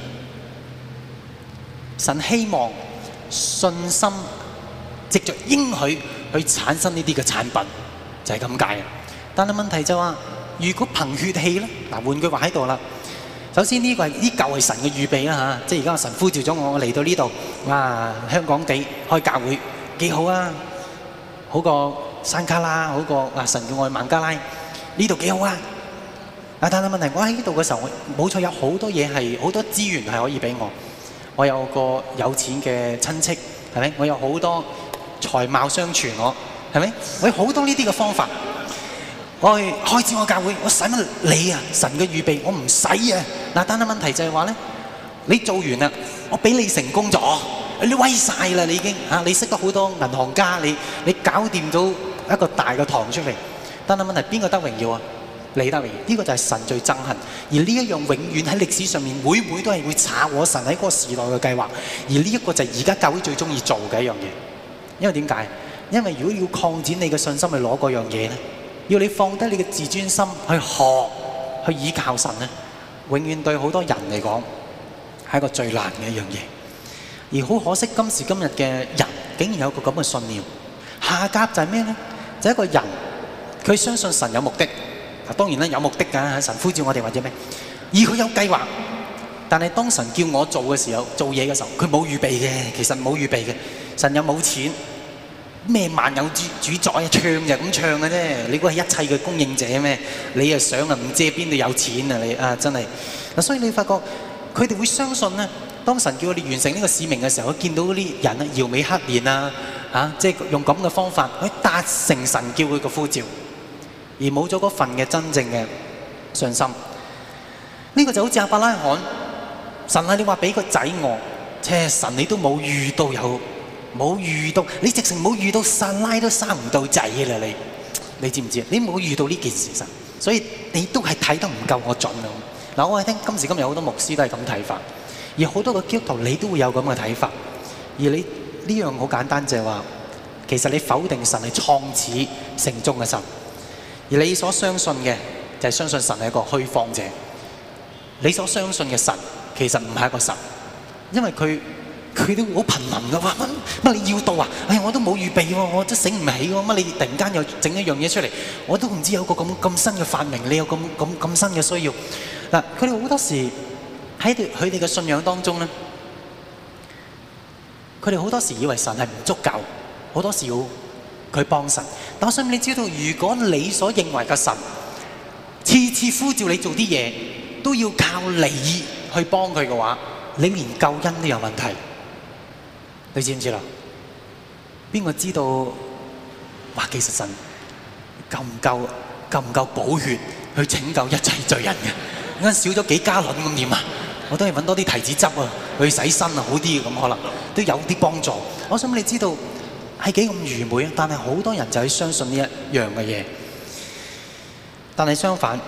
神希望信心藉着應許去產生呢啲嘅產品，就係咁解。但係問題就話，如果憑血氣咧，嗱，換句話喺度啦。首先呢個係呢舊係神嘅預備啦嚇，即係而家神呼召咗我嚟到呢度，哇！香港地開教會幾好啊，好過山卡拉，好過神叫我去孟加拉，呢度幾好啊！但係問題，我喺呢度嘅時候，冇錯有好多嘢係好多資源係可以俾我。我有個有錢嘅親戚，係咪？我有好多財貌相傳，我係咪？我有好多呢啲嘅方法。我去開始我教會，我使乜你啊？神嘅預備我唔使啊！嗱，但係問題就係話咧，你做完啦，我俾你成功咗，你威晒啦，你已經嚇，你識得好多銀行家，你搞掂到一個大嘅堂出嚟。但係問題邊個得榮耀啊？你得榮耀，呢個就係神最憎恨。而呢一樣永遠喺歷史上面，每都係會查我神喺嗰個時代嘅計劃。而呢一個就係而家教會最中意做嘅一樣嘢。因為點解？因為如果要擴展你嘅信心去攞嗰樣嘢咧，要你放低你嘅自尊心去學去倚靠神咧，永遠對好多人嚟講係一個最難嘅一樣嘢。而好可惜，今時今日嘅人竟然有個咁嘅信念。下甲就係咩咧？就係一個人佢相信神有目的。當然啦，有目的㗎，神呼召我哋或者咩，而佢有計劃。但係當神叫我做嘅時候，做嘢嘅時候，佢冇預備嘅，其實冇預備嘅。神又冇錢，咩萬有主宰啊，唱就咁唱嘅啫。你估係一切嘅供應者咩？你又想啊，唔知邊度有錢啊你啊，真係嗱。所以你發覺佢哋會相信咧，當神叫我哋完成呢個使命嘅時候，佢見到嗰啲人啊，搖尾乞憐啊，即係用咁嘅方法去達成神叫佢嘅呼召。而冇咗嗰份嘅真正嘅信心，呢個就好似亞伯拉罕，神啊，你話俾個仔我，神你都冇遇到冇遇到，你直情冇遇到撒拉都生唔到仔啦，你知唔知啊？你冇遇到呢件事實，所以你都係睇得唔夠我準啊！嗱，我係聽今時今日好多牧師都係咁睇法，而好多個基督徒你都會有咁嘅睇法，而你呢樣好簡單就係話，其實你否定神係創始成終嘅神。而你所相信嘅就係相信神係一個虛謊者，你所相信嘅神其實唔係一個神，因為佢都好頻臨㗎，話乜你要到啊？哎呀，我都冇預備喎，我都醒唔起喎，乜你突然間又整一樣嘢出嚟，我都唔知有個咁新嘅發明，你有咁新嘅需要嗱。佢哋好多時喺佢哋嘅信仰當中咧，佢哋好多時以為神係唔足夠，好多時要佢幫神。但我想你知道，如果你所認為嘅神次次呼召你做啲嘢，都要靠你去幫佢嘅話，你連救恩都有問題。你知唔知啦？邊個知道話其實神夠唔夠寶血去拯救一切罪人嘅？啱少咗幾加侖咁點啊？我都係揾多啲提子汁啊，去洗身啊，好啲咁可能都有啲幫助。我想你知道係幾咁愚昧啊！但係好多人就係相信呢一樣嘅嘢。但係相反，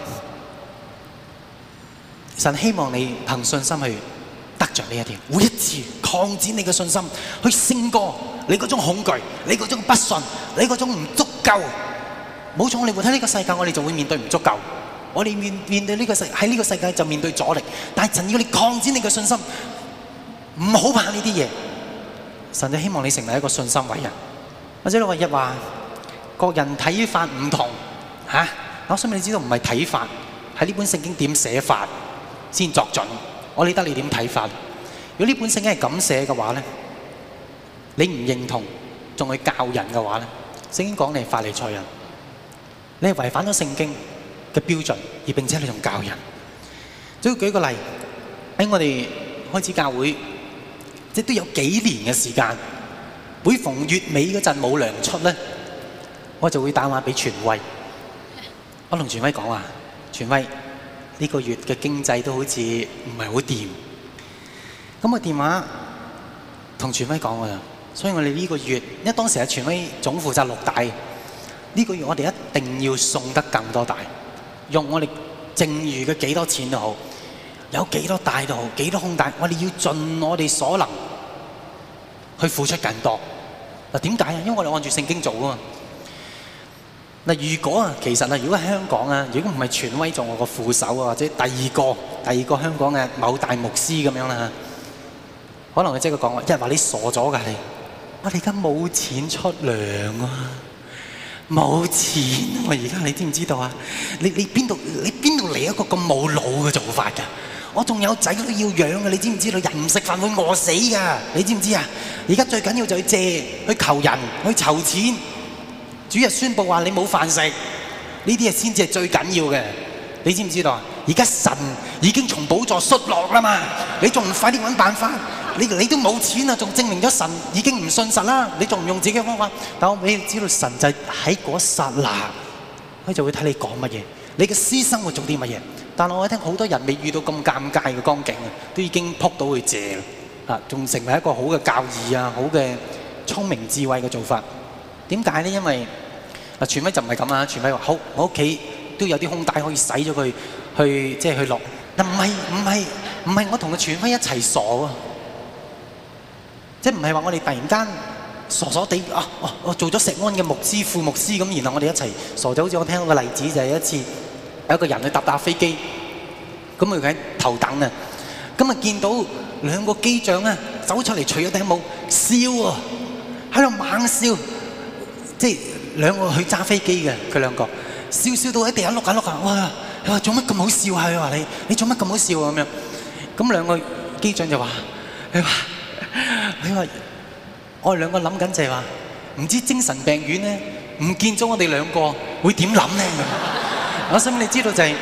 神希望你憑信心去得着呢一點，每一次擴展你嘅信心，去勝過你嗰種恐懼，你嗰種不信，你嗰種唔足夠。冇錯，我哋活喺呢個世界，我哋就會面對唔足夠。我哋面對呢個喺呢個世界就面對阻力，但係神要你擴展你嘅信心，唔好怕呢啲嘢。神就希望你成為一個信心偉人。或者你話一話，各人睇法唔同嚇，我想你知道唔係睇法，喺呢本聖經點寫法先作準。我理得你點睇法。如果呢本聖經係咁寫嘅話咧，你唔認同仲去教人嘅話咧，聖經講你係法利賽人，你係違反咗聖經嘅標準，而並且你仲教人。只要舉個例，喺我哋開始教會，即都有幾年嘅時間，每逢月尾嗰陣冇糧出咧，我就會打電話俾傳威。我同傳威講話，傳威呢個月嘅經濟都好似唔係好掂。咁我電話同傳威講㗎啦，所以我哋呢個月，因為當時係傳威總負責6大，呢個月我哋一定要送得更多大。用我哋剩餘嘅幾多錢都好，有幾多大都好，幾多空大，我哋要盡我哋所能去付出更多。嗱，點解啊？因為我哋按住聖經做啊嘛。嗱，如果如果喺香港啊，如果唔係傳威做我個副手啊，或者第二個香港嘅某大牧師咁樣啦，可能佢即係講話，一話你傻咗㗎你，我哋而家冇錢出糧啊！冇錢啊！而家你知唔知道啊？你邊度嚟一個咁冇腦嘅做法㗎？我仲有仔都要養嘅，你知唔知道？人唔食飯會餓死㗎，你知唔知啊？而家最緊要就去借、去求人、去籌錢。主日宣佈話你冇飯食，呢啲嘢先至係最緊要嘅。你知唔知道啊？而家神已經從寶座摔落啦嘛，你仲唔快啲揾辦法？你都冇錢啊，仲證明咗神已經唔信實啦！你仲唔用自己嘅方法？但我俾你知道，神就喺嗰剎那，佢就會睇你講乜嘢，你嘅私生活做啲乜嘢。但我聽好多人未遇到咁尷尬嘅光景啊，都已經撲到去借啦，仲成為一個好嘅教義啊，好嘅聰明智慧嘅做法。點解呢？因為傳威就唔係咁啦，傳威話好，我屋企都有啲空帶可以使咗佢去落。嗱，唔係我同個傳威一齊傻喎。即係唔係話我哋突然間傻傻地我做咗石安嘅牧師、副牧師咁，然後我哋一齊傻咗。好似我聽到個例子就係一次有一個人去搭飛機，咁佢喺頭等啊，咁啊見到兩個機長啊走出嚟除咗頂帽笑喎，喺度猛笑，即係兩個去揸飛機嘅佢兩個笑到喺地下碌下碌下，哇！佢話做乜咁好笑啊？佢話你做乜咁好笑啊？咁樣，咁兩個機長就話佢話我哋兩個諗緊就係話，唔知精神病院咧唔見咗我哋兩個會點諗咧？我想你知道就係、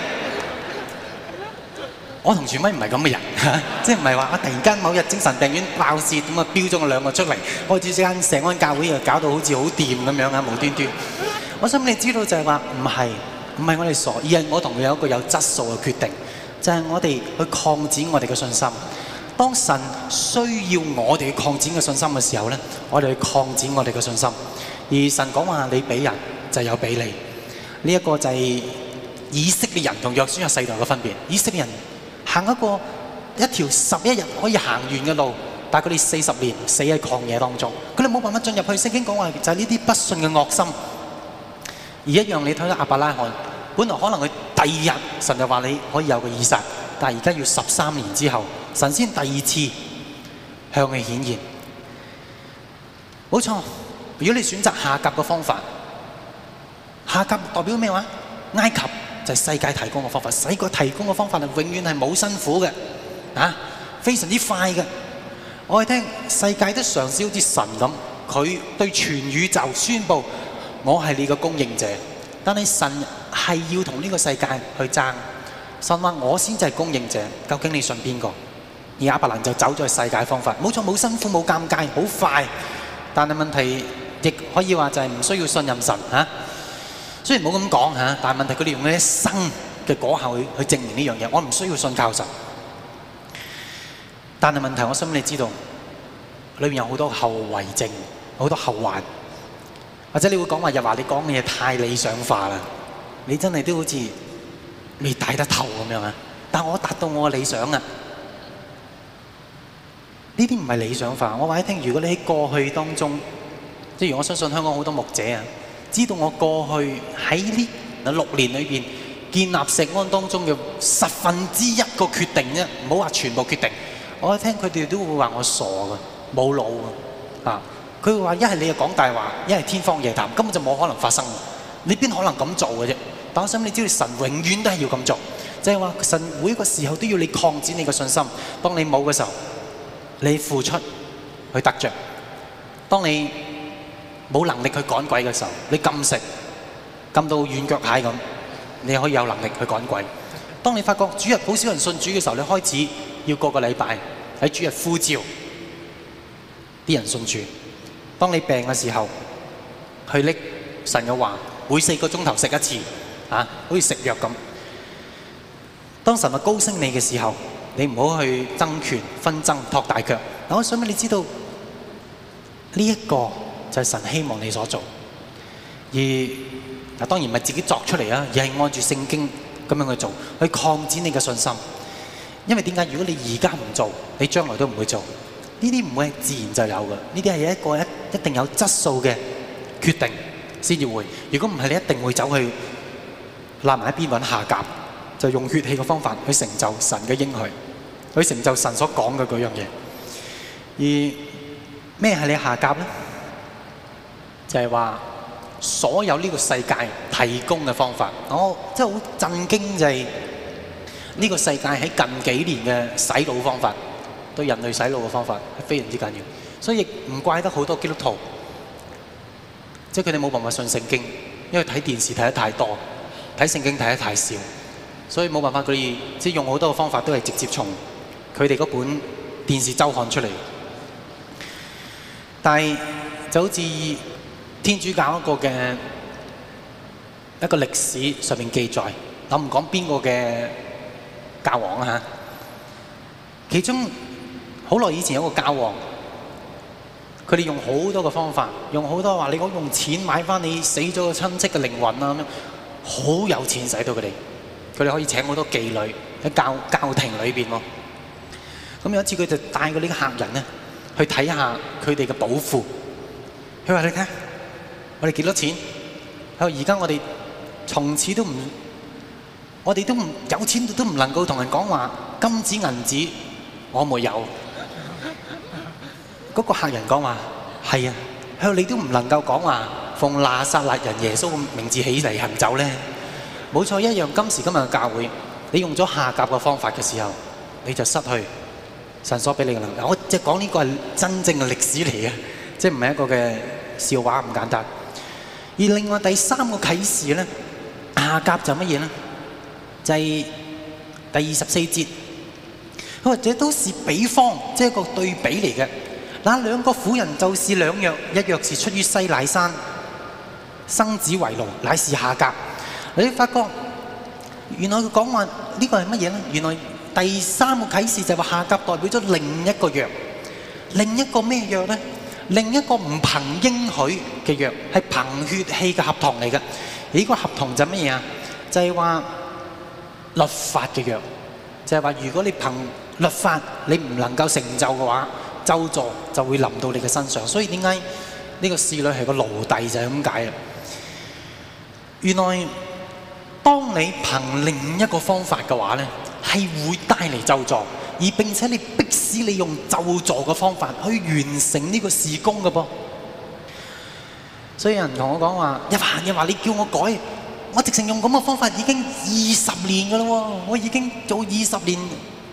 我同傳威唔係咁嘅人，即係唔係話我突然間某日精神病院爆竊咁啊，標咗我兩個出嚟，開始之間石安教會又搞到好似好掂咁樣啊，無端端。我想你知道就係話唔係我哋傻，而係我同佢有一個有質素嘅決定，就係、我哋去擴展我哋嘅信心。當神需要我哋去擴展嘅信心嘅時候咧，我哋去擴展我哋嘅信心。而神講話你俾人就有俾你，呢一個就係以色列人同約書亞世代嘅分別。以色列人行一條11日可以行完嘅路，但係佢哋40年死喺曠野當中，佢哋冇辦法進入去。聖經講話就係呢啲不信嘅惡心。而一樣你睇到亞伯拉罕，本來可能佢第二日神就話你可以有個以撒，但係而家要13年之後，神先第二次向佢顯現。冇錯，如果你選擇夏甲嘅方法，夏甲代表咩話？埃及就係世界提供嘅方法，世界提供嘅方法係永遠係冇辛苦嘅， 啊，非常之快嘅。我哋聽世界都嘗試好似神咁，佢對全宇宙宣佈我係你嘅供應者，但係神係要同呢個世界去爭。神話我先至係供應者，究竟你信邊個？而亞伯蘭就走咗去世界方法，冇錯，冇辛苦冇尷尬，好快。但係問題亦可以話就係唔需要信任神嚇。雖然冇咁講嚇，但係問題佢哋用佢一生嘅果效去證明呢樣嘢。我唔需要信靠神，但係問題我想你知道，裏面有好多後遺症，好多後患。或者你會講話，又話你講嘅嘢太理想化啦，你真係都好似未睇得透咁樣啊！但我達到我嘅理想啊！呢啲唔係理想化。我話你聽，如果你喺過去當中，即係我相信香港好多牧者啊，知道我過去喺呢6年裏邊建立石安當中嘅1/10個決定啫，唔好話全部決定。我一聽佢哋都會話我傻㗎，冇腦㗎啊！佢會話一係你又講大話，一係天方夜譚，根本就冇可能發生。你邊可能咁做嘅啫？但我想你知道，神永遠都係要咁做，即係話神每一個時候都要你擴展你嘅信心。當你冇嘅時候，你付出去得着；當你冇能力去趕鬼嘅時候，你禁食禁到軟腳蟹咁，你可以有能力去趕鬼。當你發覺主日好少人信主嘅時候，你開始要個個禮拜喺主日呼召啲人信主。當你病嘅時候，去拎神嘅話，每4個鐘頭食一次，啊，好似食藥咁。當神話高升你嘅時候，你唔好去爭權紛爭托大腳。我想俾你知道，呢一個就係神希望你所做。而當然唔係自己作出嚟啊，而係按住聖經咁樣去做，去擴展你嘅信心。因為點解？如果你而家唔做，你將來都唔會做。呢啲唔會係自然就有嘅，呢啲係一個一定有質素嘅決定先至會。如果唔係，你一定會走去立埋一邊揾下夾，就用血氣嘅方法去成就神嘅應許，去成就神所講嘅嗰樣嘢。而咩係你下夾呢？就係話所有呢個世界提供嘅方法，我真係好震驚，就係呢個世界喺近幾年嘅洗腦方法，對人類洗腦嘅方法係非常之緊要，所以亦唔怪得好多基督徒，即係佢哋冇辦法信聖經，因為睇電視睇得太多，睇聖經睇得太少，所以冇辦法，佢哋即係用好多嘅方法都係直接從佢哋嗰本電視週刊出嚟。但係就好似天主教一個嘅一個歷史上面記載，我唔講邊個嘅教皇啊嚇，其中好耐以前有個教皇，佢哋用好多嘅方法，用好多話你講用錢買翻你死咗嘅親戚嘅靈魂啊咁樣，好有錢使到佢哋，佢哋可以請好多妓女喺教廷裏邊喎。咁有一次佢就帶過呢個客人咧去睇下佢哋嘅寶庫，佢話你睇，我哋幾多錢？佢話而家我哋從此都唔，我哋都唔有錢都唔能夠同人講話金子銀子我沒有。嗰個客人講話係啊，佢話你都唔能夠講話奉拿撒勒人耶穌嘅名字起嚟行走咧。冇錯，一樣今時今日嘅教會，你用咗下夾嘅方法嘅時候，你就失去神所俾你嘅能力。我即係講呢個係真正嘅歷史嚟嘅，即係唔係一個嘅笑話咁簡單。而另外第三個啟示咧，下夾就乜嘢咧？就係第24節，佢話這都是比方，即係一個對比嚟嘅。那兩個婦人就是兩約，一約是出於西乃山，生子為奴，乃是下夾。你發覺原來佢講話呢個係乜嘢咧？原來第三個啟示就係話下夾代表咗另一個約，另一個咩約咧？另一個唔憑應許嘅約，係憑血氣嘅合同嚟嘅。而呢個合同就乜嘢啊？就係話律法嘅約，就係話如果你憑律法你唔能夠成就嘅話，咒詛就會臨到你嘅身上。所以點解呢個侍女係個奴隸就係咁解啊？原來當你憑另一個方法嘅話咧，係會帶嚟咒詛，而並且你迫使你用咒詛嘅方法去完成呢個事工嘅噃。所以有人同我講話，一話你叫我改，我直情用咁嘅方法已經20年㗎啦喎，我已經做20年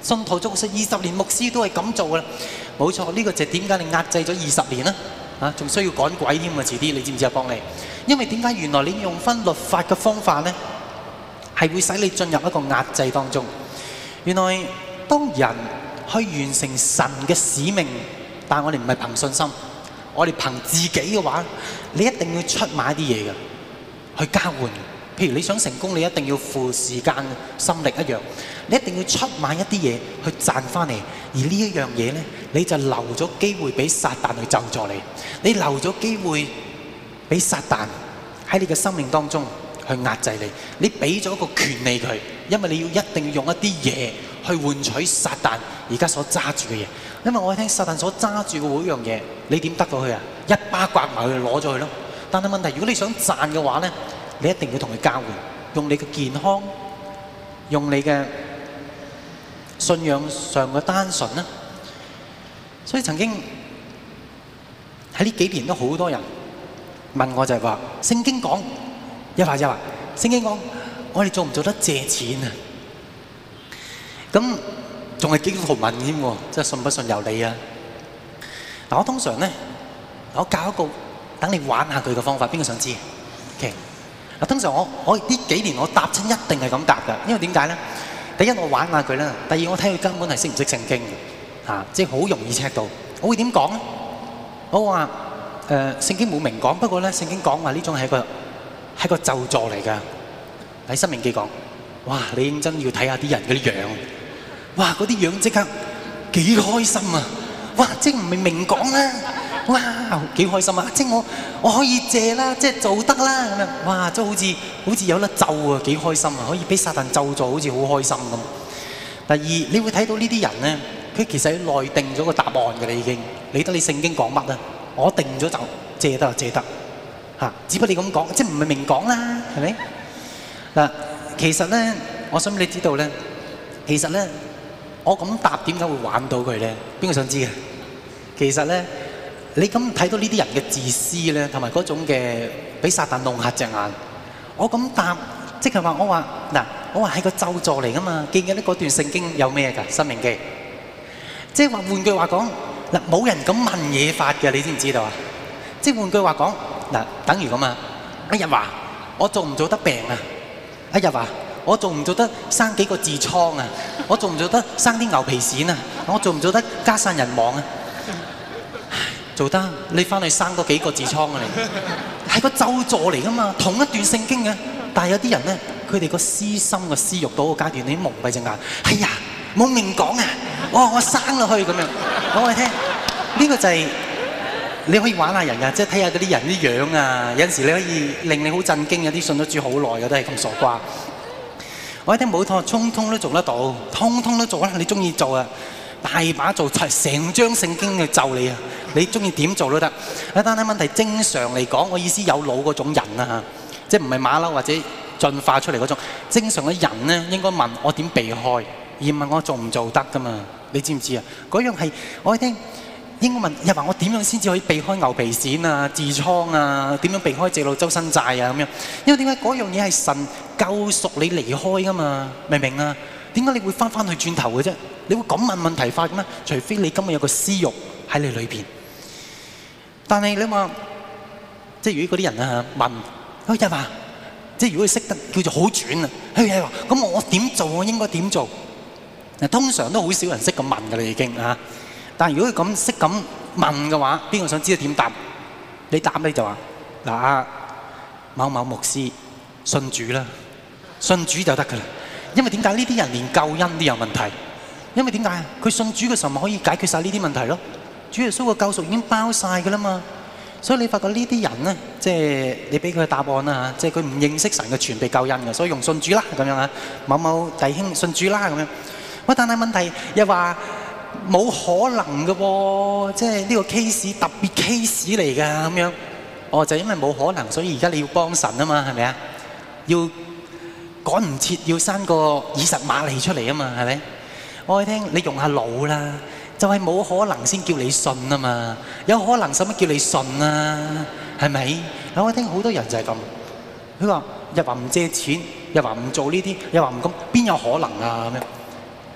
信徒做咗20年牧師都係咁做啦。冇錯，呢個就係點解你壓制咗20年啦？啊，仲需要趕鬼添啊！遲啲你知唔知啊？幫你，因為點解原來你用翻律法嘅方法咧，係會使你進入一個壓制當中。原來當人去完成神嘅使命，但係我哋唔係憑信心，我哋憑自己嘅話，你一定要出賣一啲嘢嘅去交換。譬如你想成功，你一定要付時間、心力一樣，你一定要出賣一啲嘢去賺翻嚟。而呢一樣嘢咧，你就留咗機會俾撒旦去咒詛你，你留咗機會俾撒旦喺你嘅生命當中去壓制你，你俾咗個權利佢，因為你要一定要用一啲嘢去換取撒旦而家所揸住嘅嘢。因為我聽撒旦所揸住嘅每樣嘢，你點得到佢啊？一巴刮埋佢攞咗佢咯。但係問題，如果你想賺嘅話咧，你一定要同佢交換，用你嘅健康，用你嘅信仰上嘅單純啦。所以曾經喺呢幾年都好多人問我，就係話聖經講一話，聖經講我哋做唔做得借錢啊？咁仲係基督徒問添喎，即係信不信由你啊！嗱，我通常咧，我教一個等你玩下佢嘅方法，邊個想知 ？OK。嗱，通常我呢幾年我答親一定係咁答㗎，因為點解咧？第一我玩下佢啦，第二我睇佢根本係識唔識聖經嘅，即係好容易 check 到。我會點講咧？我話聖經冇明講，不過咧聖經講話呢種係一個咒詛嚟㗎。喺申命記講，哇！你認真要睇下啲人嗰啲樣，哇！嗰啲樣即刻幾開心啊！哇！即係唔係明講啦，哇！幾開心啊！即係我可以借啦，即係做得啦咁樣，哇！即係好似有得咒啊，幾開心啊！可以俾撒旦咒詛，好似好開心咁。第二，你會睇到呢啲人咧，佢其實內定咗個答案㗎啦，已經理得你聖經講乜啊？我定咗就借得就借得嚇，只不過你咁講，即係唔係明講啦，係咪？嗱，其實咧，我想你知道咧，其實咧，我咁答點解會玩到佢咧？邊個想知嘅？其實咧，你咁睇到呢啲人嘅自私咧，同埋嗰種嘅俾撒旦弄瞎隻眼，我咁答，即係話我話嗱，我話係個咒詛嚟噶嘛。記唔記得嗰段聖經有咩㗎？申命記，即係話換句話講嗱，冇人咁問嘢法嘅，你知唔知道啊？即係換句話講嗱，等於咁啊，一日話我做唔做得病啊？一日話我做唔做得生幾個痔瘡啊？我做唔做得生啲牛皮癬啊？我做唔做得家散人亡啊？做得，你翻去生多幾個痔瘡啊！你係個咒詛嚟噶嘛？同一段聖經嘅，但係有啲人咧，佢哋個私心個私欲到個階段，你蒙蔽隻眼。哎呀，冇明講啊！我生落去咁樣，講我哋聽。呢個就係你可以玩下人㗎，即係睇下嗰啲人啲樣啊。有陣時你可以令你好震驚，有啲信咗主好耐嘅都係咁傻瓜。我一聽冇錯，通通都做得到，通通都做啦。你中意做啊，大把做，成張聖經去咒你啊！你中意點做都得。但係問題正常嚟講，我意思有腦嗰種人啊嚇，即係唔係馬騮或者進化出嚟嗰種正常嘅人咧，應該問我點避開，而唔係我做唔做得噶嘛？你知唔知啊？嗰樣係我一聽應該問，又話我點樣先至可以避開牛皮癬啊、痔瘡啊？點樣避開借路周身債啊？咁樣，因為點解嗰樣嘢係神救贖你離開噶嘛？明唔明啊？點解你會翻去轉頭嘅啫？你會咁問問題法嘅咩？除非你今日有個私慾喺你裏邊。但係你話，即係如果嗰啲人啊問，佢又話，即係如果佢識得叫做好轉啊，佢又話，咁我點做？我應該點做？嗱，通常都好少人識咁問㗎啦，已經啊。但係如果佢咁識咁問嘅話，邊個想知道點答？你答你就話嗱，某某牧師信主啦，信主就得㗎啦。因為點解呢啲人連救恩都有問題？因為點解啊？佢信主嘅時候咪可以解決晒呢啲問題咯。主耶穌嘅救贖已經包晒㗎啦嘛。所以你發覺呢啲人咧，即係你俾佢嘅答案啦嚇，即係佢唔認識神嘅全備救恩嘅，所以用信主啦咁樣啊。某某弟兄信主啦咁樣。喂，但係問題又話冇可能嘅喎，即係呢個 case 特別 case 嚟㗎咁樣。哦，就因為冇可能，所以而家你要幫神啊嘛，係咪啊？要趕唔切要生個以實瑪利出嚟啊嘛，係咪？我聽你用下腦啦，就係冇可能先叫你信啊嘛，有可能使乜叫你信啊？係咪？我聽好多人就係咁，佢話又話唔借錢，又話唔做呢啲，又話唔咁，邊有可能啊咁樣？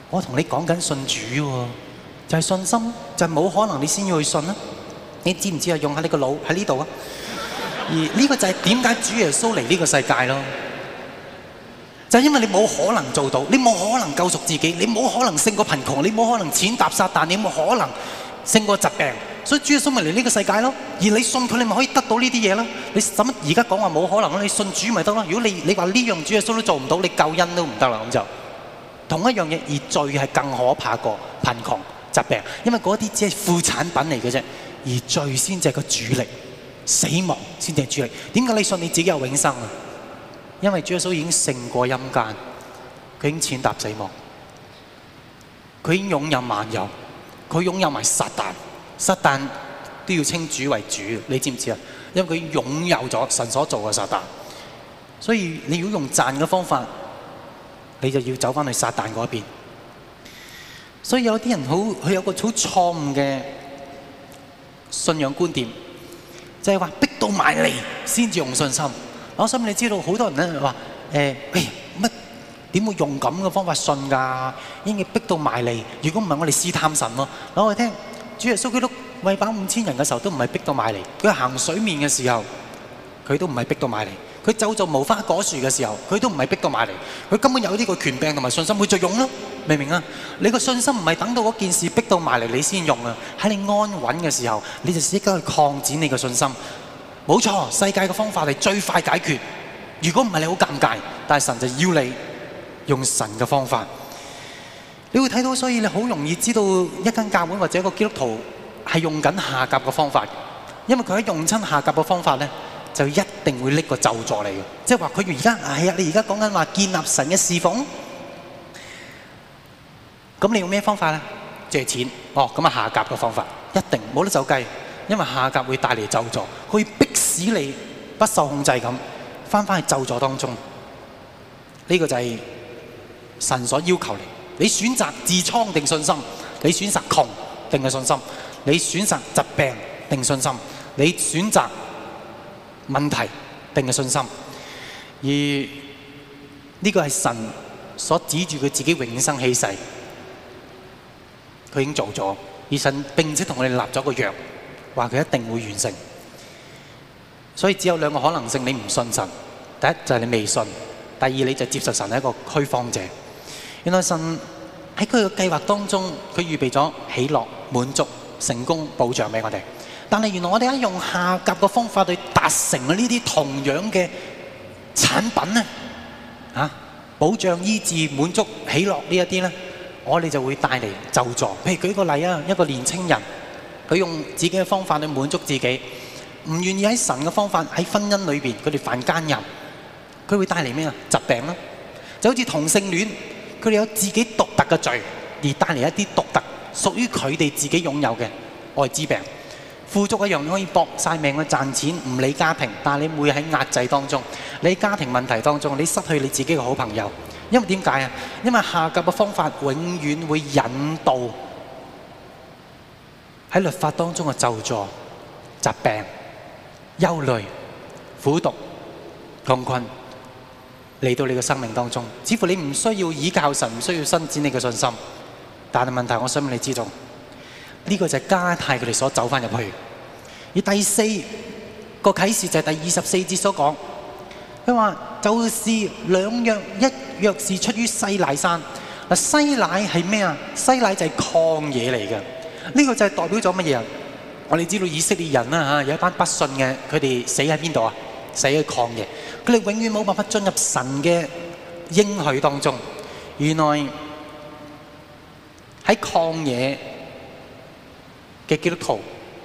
我同你講緊信主喎，就係信心，就係冇可能你先要去信啦。你知唔知啊？用下你個腦喺呢度啊！而呢個就係點解主耶穌嚟呢個世界咯？就係因為你冇可能做到，你冇可能救贖自己，你冇可能勝過貧窮，你冇可能踐踏撒旦，你冇可能勝過疾病，所以主耶穌咪嚟呢個世界咯。而你信佢，你咪可以得到呢啲嘢咯。你使乜而家講話冇可能咯？你信主咪得咯。如果你話呢樣主耶穌都做唔到，你救恩都唔得啦。咁就同一樣嘢，而罪係更可怕過貧窮疾病，因為嗰啲只係副產品嚟嘅啫，而罪先至係個主力，死亡先至係主力。點解你信你自己有永生啊？因為主耶穌已經勝過陰間，佢已經踐踏死亡，佢已經擁有萬有，佢擁有埋撒旦，撒旦都要稱主為主，你知唔知啊？因為佢擁有咗神所做嘅撒旦，所以你如果用賺嘅方法，你就要走返去撒旦嗰邊。所以有啲人佢有個好錯誤嘅信仰觀點，就係話逼到埋嚟先至用信心。我想你知道好多人咧話乜點會用咁嘅方法信㗎？應該逼到埋嚟。如果唔係我哋試探神咯。攞我聽，主耶穌基督餵飽5000人嘅時候都唔係逼到埋嚟，佢行水面嘅時候佢都唔係逼到埋嚟，佢咒詛無花果樹嘅時候佢都唔係逼到埋嚟，佢根本有呢個權柄同埋信心，佢就用咯，明唔明啊？你個信心唔係等到嗰件事逼到埋嚟你先用啊，喺你安穩嘅時候你就即刻去擴展你嘅信心。冇錯，世界嘅方法係最快解決。如果唔係你好尷尬，但係神就要你用神嘅方法。你會睇到，所以你好容易知道一間教會或者一個基督徒係用緊下甲嘅方法，因為佢喺用親下甲嘅方法咧，就一定會拎個咒詛嚟嘅。即係話佢而家係啊，你而家講緊話建立神嘅侍奉，咁你用咩方法咧？借錢哦，咁啊下甲嘅方法一定冇得走雞。因為下甲會帶嚟咒詛，佢會逼使你不受控制咁返去咒詛當中。呢個就係神所要求你。你選擇痔瘡定信心？你選擇窮定係信心？你選擇疾病定信心？你選擇問題定係信心？而呢個係神所指住佢自己永生起誓，佢已經做咗，而神並且同我哋立咗個約。話佢一定會完成，所以只有兩個可能性：你唔信神，第一就係你未信；第二你就接受神係一個虛謊者。原來神喺佢嘅計劃當中，佢預備咗喜樂、滿足、成功、保障俾我哋。但係原來我哋喺用下甲嘅方法去達成呢啲同樣嘅產品咧，保障、醫治、滿足、喜樂呢一啲咧，我哋就會帶嚟咒詛。譬如舉個例啊，一個年青人。佢用自己嘅方法去滿足自己，唔願意喺神嘅方法喺婚姻裏邊，佢哋犯奸淫，佢會帶嚟咩啊？疾病啦，就好似同性戀，佢哋有自己獨特嘅罪，而帶嚟一啲獨特屬於佢哋自己擁有嘅愛滋病。富足一樣可以搏晒命去賺錢，唔理家庭，但係你會喺壓制當中，你喺家庭問題當中，你失去你自己嘅好朋友。因為點解啊？因為下甲嘅方法永遠會引導喺律法當中嘅咒詛、疾病、憂慮、苦毒、窮困嚟到你嘅生命當中，似乎你唔需要依靠神，唔需要伸展你嘅信心。但係問題，我想你知道，呢個就係加太佢哋所走翻入去。而第四個啟示就係第24節所講，佢話就是兩約，一約是出於西乃山。嗱，西乃係咩啊？西乃就係曠野嚟嘅。呢個就係代表咗乜嘢啊？我哋知道以色列人啦，有一班不信嘅，佢哋死喺邊度啊？死喺曠野，佢哋永遠冇辦法進入神嘅應許當中。原來喺曠野嘅基督徒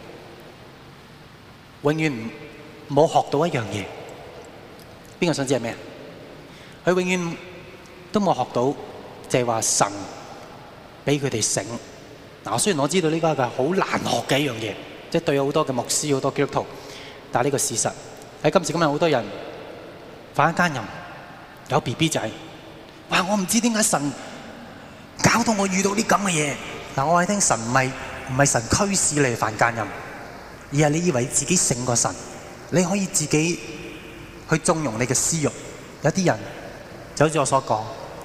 永遠冇學到一樣嘢。邊個想知係咩？佢永遠都冇學到，就係話神俾佢哋醒。嗱，雖然我知道呢個係好難學嘅一樣嘢，即係對好多嘅牧師、好多基督徒，但係呢個事實喺今時今日，好多人犯奸淫，有 BB 仔，哇！我唔知點解神搞到我遇到啲咁嘅嘢。嗱，我係聽神唔係神驅使你犯奸淫，而係你以為自己勝過神，你可以自己去縱容你嘅私慾。有啲人就好似我所講，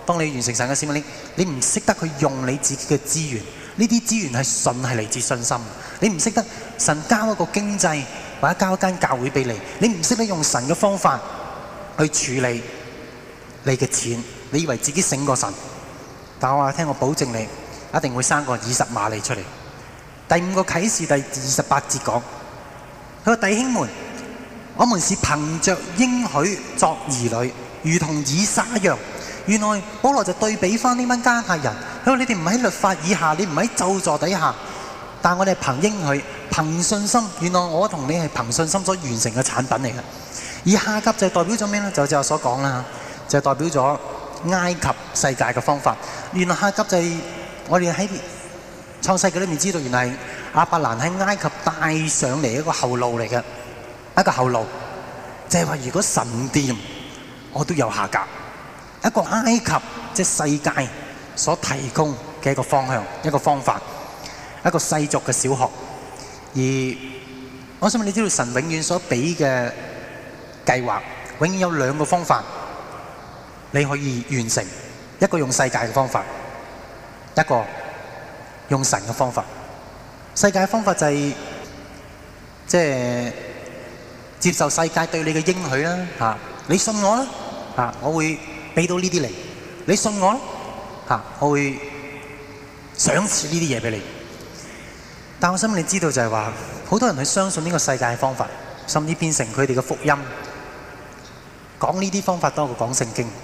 當你完成神嘅使命，你唔識得去用你自己嘅資源，呢啲資源係純係嚟自信心。你唔識得神交一個經濟或者交一間教會俾你，你唔識得用神嘅方法去處理你嘅錢，你以為自己醒過神，但我話聽，我保證你一定會生個20馬利出嚟。第5個啟示第28節講，佢話弟兄們，我們是憑着應許作兒女，如同以撒一樣。原來保羅就對比翻呢班加太人，佢話你哋唔喺律法以下，你唔喺咒詛底下，但我哋係憑應許、憑信心。原來我同你係憑信心所完成嘅產品嚟嘅。而下級就代表咗咩呢？就我所講啦，就代表咗埃及世界嘅方法。原來下級就係我哋喺創世記裏面知道，原來亞伯蘭喺埃及帶上嚟一個後路嚟嘅，一個後路，就係話如果神掂，我都有下格。一個埃及即係世界所提供嘅一個方向、一個方法、一個世俗嘅小學。而我想問你知道神永遠所俾嘅計劃，永遠有2個方法你可以完成，一個用世界嘅方法，一個用神嘅方法。世界嘅方法就係即係接受世界對你嘅應許啦，嚇你信我啦，嚇我會俾到呢啲嚟，你信我啦，嚇我會賞賜呢啲嘢俾你。但我想你知道就係話，好多人去相信呢個世界嘅方法，甚至變成佢哋嘅福音，講呢啲方法多過講聖經。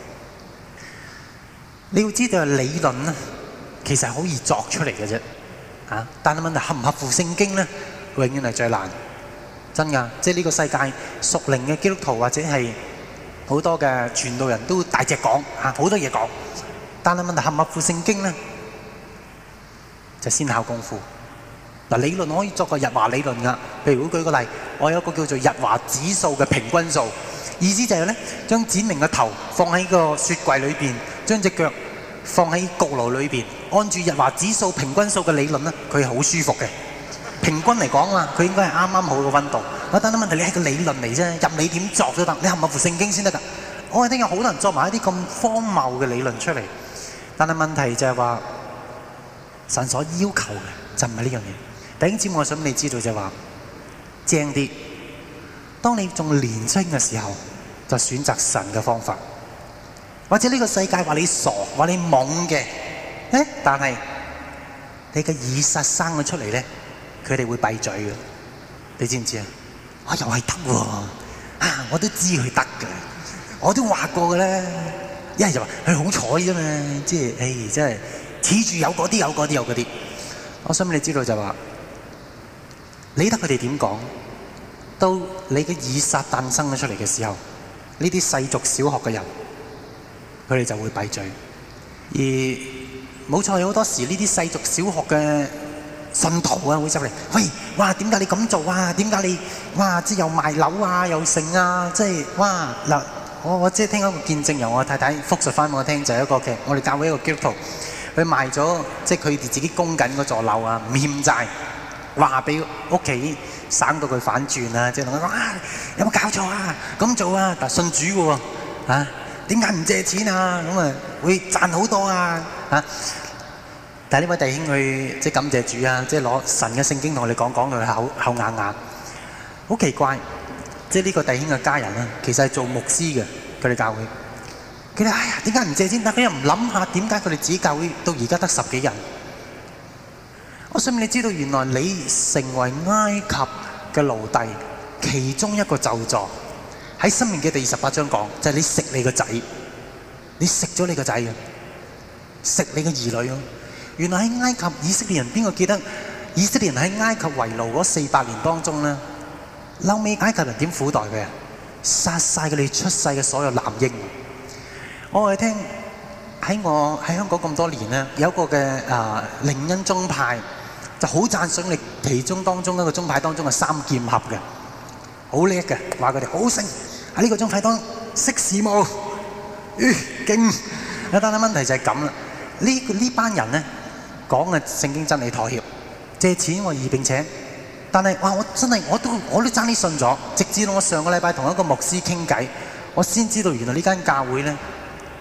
你要知道理論咧，其實係好易作出嚟嘅啫，嚇！但係問題合唔合乎聖經咧，永遠係最難。真㗎，即係呢個世界屬靈嘅基督徒或者係好多嘅傳道人都大隻講嚇，好多嘢講。但係問題合唔合乎聖經咧，就先考功夫。嗱，理論可以作個日華理論㗎。譬如我舉個例，我有一個叫做日華指數嘅平均數，意思就係咧，將展明嘅頭放喺個雪櫃裏邊，將隻腳放喺焗爐裏邊，按住日華指數平均數嘅理論咧，佢係好舒服嘅。平均嚟講啊，佢應該係啱啱好嘅溫度。但係問題你係個理論嚟啫，任你點作都得，你合唔合乎聖經先得㗎。我係聽有好多人作埋一啲咁荒謬嘅理論出嚟，但係問題就係話神所要求嘅就唔係呢樣嘢。弟兄姊妹，我想你知道就係話正啲，當你仲年輕嘅時候，就選擇神嘅方法。或者呢個世界話你傻，話你懵嘅，但係你嘅以撒生咗出嚟咧，佢哋會閉嘴嘅。你知唔知啊？我又係得喎，我都知佢得嘅，我都話過嘅咧。一係就話佢好彩啫嘛，即係真係恃住有嗰啲有嗰啲有嗰啲。我想你知道就話，理得佢哋點講，到你嘅以撒誕生咗出嚟嘅時候，呢啲世俗小學嘅人，佢哋就會閉嘴。而冇錯，有好多時呢啲世俗小學嘅信徒啊，會入嚟，喂，哇，點解你咁做啊？點解你，哇，即係又賣樓啊，又剩啊，即係，哇，嗱，我即係聽一個見證，由我太太復述翻我聽，就係一個嘅，我哋教會一個基督徒，佢賣咗，即係佢哋自己供緊嗰座樓啊，唔欠債，話俾屋企省到佢反轉啊，即係同佢講啊，有冇搞錯啊？咁做啊，但係信主嘅喎，嚇，點解唔借錢啊？咁啊，會賺好多啊，嚇！但係呢位弟兄佢即係感謝主啊，即係攞神嘅聖經同我哋講到佢口啞啞。好奇怪，即係呢個弟兄嘅家人啊，其實係做牧師嘅，佢哋教會。佢哋哎呀，點解唔借錢？但佢又唔諗下點解佢哋自己教會到而家得10幾人。我想你知道，原來你成為埃及嘅奴隸，其中一個咒詛喺申命記第28章講，就係你食你個仔，你食咗你個仔嘅，食你嘅兒女咯。原來喺埃及以色列人，邊個記得以色列人喺埃及為奴嗰400年當中咧，後尾埃及人點苦待佢啊？殺晒佢哋出世嘅所有男嬰。我哋聽我喺香港咁多年咧，有一個嘅靈恩宗派就好讚賞你其中當中一個宗派當中嘅3劍俠嘅，好叻嘅，話佢哋好醒喺呢個宗派當識時務，勁。但係問題就係咁啦，呢班人咧。講嘅聖經真理妥協，借錢我義並且，但係哇！我真係我都爭啲信咗，直至到我上個禮拜同一個牧師傾偈，我先知道原來呢間教會咧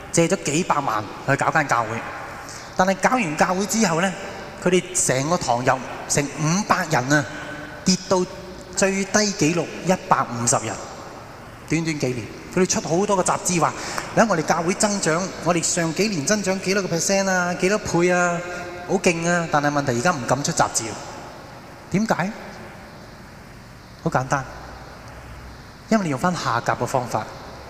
借咗幾百萬去搞間教會。但係搞完教會之後呢，佢哋成個堂由成500人啊，跌到最低紀錄150人。短短幾年，佢哋出好多個雜誌話，你睇我哋教會增長，我哋上幾年增長幾多個%啊，幾多倍啊，好勁啊！但係問題而家唔敢出雜誌，點解？好簡單，因為你用翻下夾嘅方法。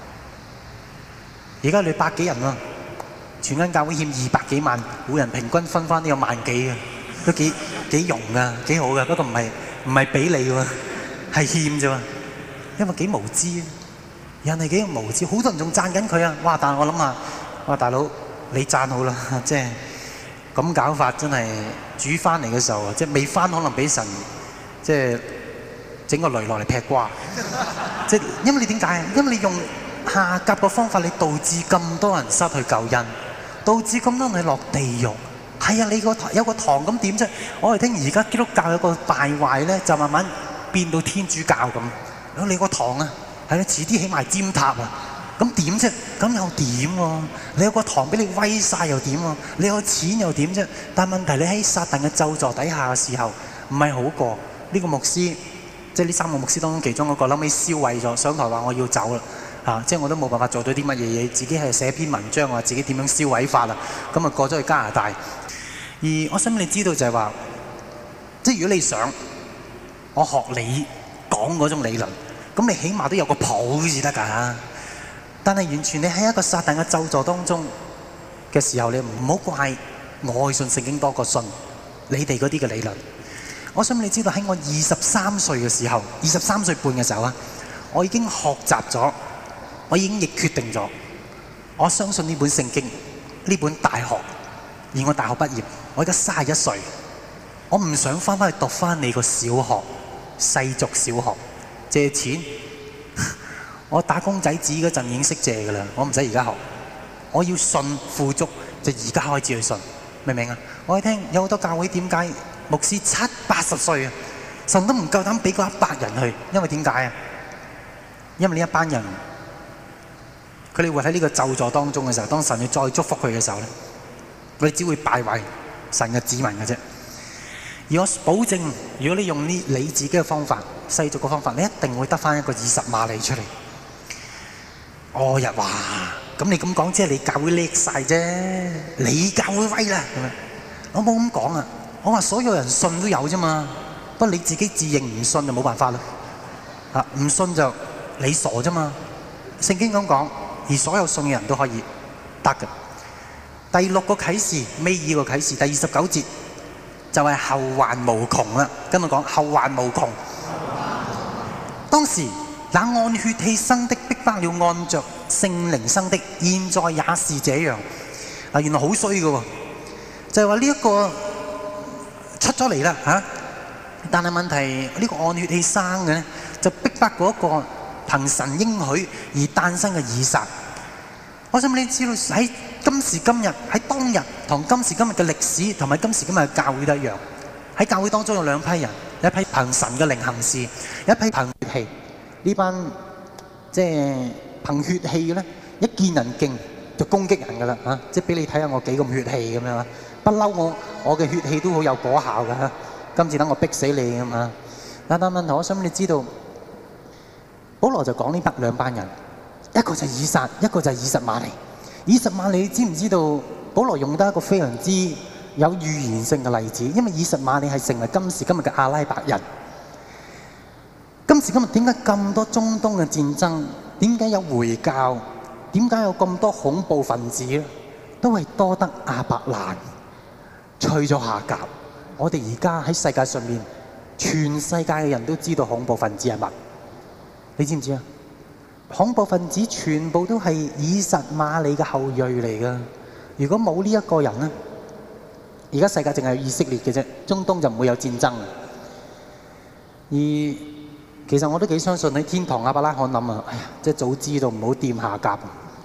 而家你百幾人喎，全間教會欠200幾萬，每人平均分翻都有1萬幾嘅，都幾容啊，幾好嘅。不過唔係俾你喎，係欠啫喎，因為幾無知啊！人係幾無知，好多人仲讚緊佢啊！哇！但係我諗下，哇大佬你讚好啦，即係咁搞法真係煮翻嚟嘅時候啊，即係未翻可能俾神即係整個雷落嚟劈瓜。即係因為你點解？因為你用下夾嘅方法，你導致咁多人失去救恩，導致咁多人落地獄。係啊，你有個堂咁點啫？我哋聽而家基督教有個敗壞咧，就慢慢變到天主教咁。你個堂啊！係啦，遲啲起埋尖塔啊！咁點啫？咁又點喎？你有個堂俾你威晒又點喎？你有錢又點啫？但係問題你喺撒旦嘅咒詛底下嘅時候，唔係好過呢個牧師，即係呢3個牧師當中其中一個，後尾燒毀咗，上台話我要走啦嚇！即係我都冇辦法做到啲乜嘢嘢，自己係寫篇文章話自己點樣燒毀法啦，咁啊過咗去加拿大。而我想你知道就係話，即係如果你想我學你講嗰種理論。咁你起碼都有個譜至得㗎，但係完全你喺一個撒旦嘅咒詛當中嘅時候，你唔好怪我信聖經多過信你哋嗰啲嘅理論。我想你知道喺我23歲嘅時候，23歲半嘅時候啊，我已經學習咗，我已經亦決定咗，我相信呢本聖經，呢本大學，而我大學畢業，我而家31歲，我唔想翻去讀翻你個小學，世俗小學。借錢，我打工仔紙嗰陣已經識借㗎啦，我唔使而家學。我要信富足，就而家開始去信，明唔明啊？我哋聽有好多教會點解牧師70、80歲啊，神都唔夠膽俾嗰100人去，因為點解啊？因為呢一班人，佢哋會喺呢個咒詛當中嘅時候，當神要再祝福佢嘅時候咧，佢哋只會敗壞神嘅子民嘅啫。而我保證，如果你用你自己嘅方法、世俗嘅方法，你一定會得返一個20馬里出嚟。我日話，咁你咁講，即係你教會叻晒啫，你教會威啦。我冇咁講啊，我話所有人信都有啫嘛，不過你自己自認唔信就冇辦法啦。啊，唔信就你傻啫嘛。聖經咁講，而所有信嘅人都可以得嘅。第6個啟示，尾2個啟示，第29節。就係後患無窮啦！跟我講後患無窮。當時那按血氣生的逼迫了按着聖靈生的，現在也是這樣。啊，原來好衰嘅喎，就係話呢一個出咗嚟啦嚇。但係問題呢個按血氣生嘅咧，就逼迫嗰一個憑神應許而誕生嘅以撒。我想你知道喺今時今日喺當日同今時今日嘅歷史同埋今時今日嘅教會都一樣。喺教會當中有2批人，一批憑神嘅靈行事，一批憑血氣。呢班即係憑血氣嘅咧，一見人勁就攻擊人㗎啦嚇！即係俾你睇下我幾咁血氣咁樣啊！不嬲我嘅血氣都好有果效㗎嚇。今次等我逼死你咁啊！但問題我想你知道，保羅就講呢2班人。一個就係以撒，一個就係以實瑪利。以實瑪利，你知唔知道？保羅用得一個非常之有預言性嘅例子，因為以實瑪利係成為今時今日嘅阿拉伯人。今時今日點解咁多中東嘅戰爭？點解有回教？點解有咁多恐怖分子咧？都係多得亞伯蘭吹咗下夾。我哋而家喺世界上面，全世界嘅人都知道恐怖分子係乜？你知唔知啊？恐怖分子全部都係以實瑪利嘅後裔嚟㗎。如果冇呢一個人咧，而家世界淨係有以色列嘅啫，中東就唔會有戰爭。而其實我都幾相信喺天堂亞伯拉罕諗啊，哎呀，即係早知道唔好掂下夾。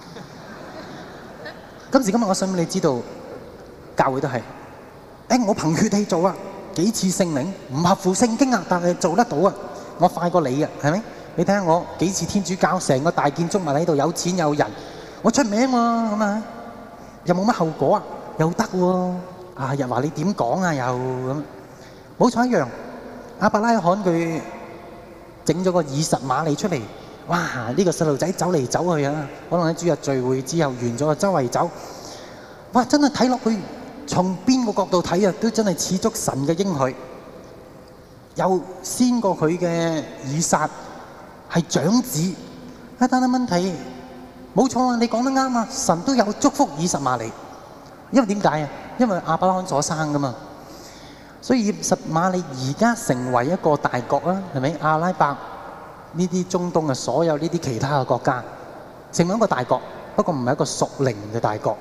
今時今日我想你知道，教會都係，我憑血氣做啊，幾次聖靈唔合乎聖經啊，但係做得到啊，我快過你啊，係咪？你睇下我幾次天主教成個大建築物喺度，有錢有人， 我出名喎，咁啊，又冇乜後果啊，又得喎，又話你點講啊，又咁，冇錯一樣。亞伯拉罕佢整咗個以實瑪利出嚟，哇！呢個細路仔走嚟走去啊，可能喺主日聚會之後完咗，周圍走，哇！真係睇落去，從邊個角度睇啊，都真係似足神嘅應許。又先過佢嘅以撒係長子，但係問題冇錯啊！你講得啱啊！神都有祝福以實瑪利，因為點解啊？因為亞伯拉罕所生噶嘛，所以以實瑪利而家成為一個大國啊，係咪？阿拉伯呢啲中東嘅所有呢啲其他嘅國家，成為一個大國，不過唔係一個屬靈嘅大國，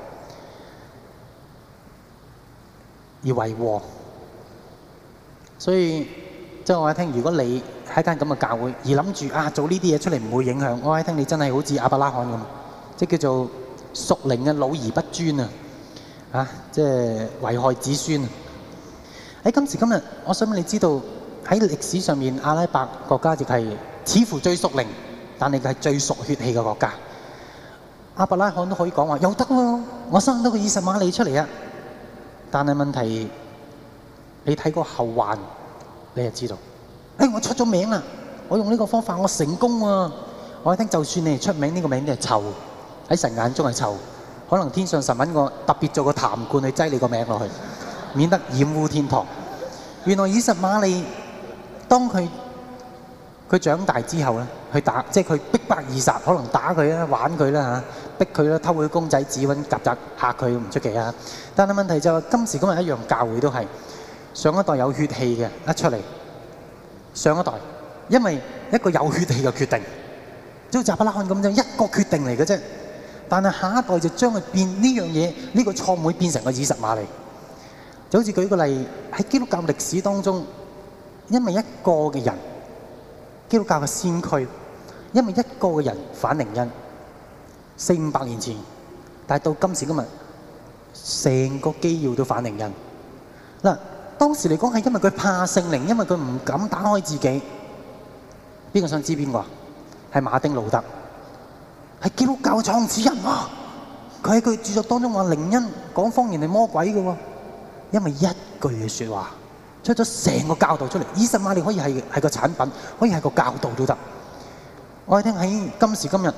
而為禍。所以即係我一聽，如果你喺間咁嘅教會，而諗住做呢啲嘢出嚟唔會影響，我一聽你真係好似亞伯拉罕咁，即係叫做屬靈嘅老而不尊啊！即係危害子孫啊！喺今時今日，我想俾你知道喺歷史上面，阿拉伯國家亦係似乎最屬靈，但係佢係最屬血氣嘅國家。亞伯拉罕都可以講話又得喎，我生到個以實瑪利出嚟啊！但係問題，你睇個後患，你就知道。我出咗名啦，我用呢個方法，我成功喎。我一聽，就算你係出名，呢個名都係臭，喺神眼中係臭。可能天上神揾個特別做個痰罐去擠你個名落去，免得染污天堂。原來以實瑪利當佢長大之後咧，去打，即係佢逼迫以撒，可能打佢啦、玩佢啦嚇，逼佢啦、偷佢公仔紙、揾曱甴嚇佢唔出奇啊！但係問題就係今時今日一樣，教會都係上一代有血氣嘅一出嚟，上一代因為一個有血氣嘅決定，即係亞伯拉罕咁樣一個決定嚟嘅啫。但係下一代就將佢變呢樣嘢，呢個錯誤變成個以實瑪利。就好似舉個例喺基督教歷史當中，因為一個嘅人，基督教嘅先驅，因為一個嘅人反靈恩，400-500年前，但係到今時今日，成個基要都反靈恩。嗱，當時嚟講係因為佢怕聖靈，因為佢唔敢打開自己。邊個想知邊個啊？係馬丁路德。係基督教嘅創始人喎，佢喺佢著作當中話靈恩講方言係魔鬼嘅喎，因為一句嘅説話出咗成個教導出嚟。以實瑪利可以係個產品，可以係個教導都得。我哋聽喺今時今日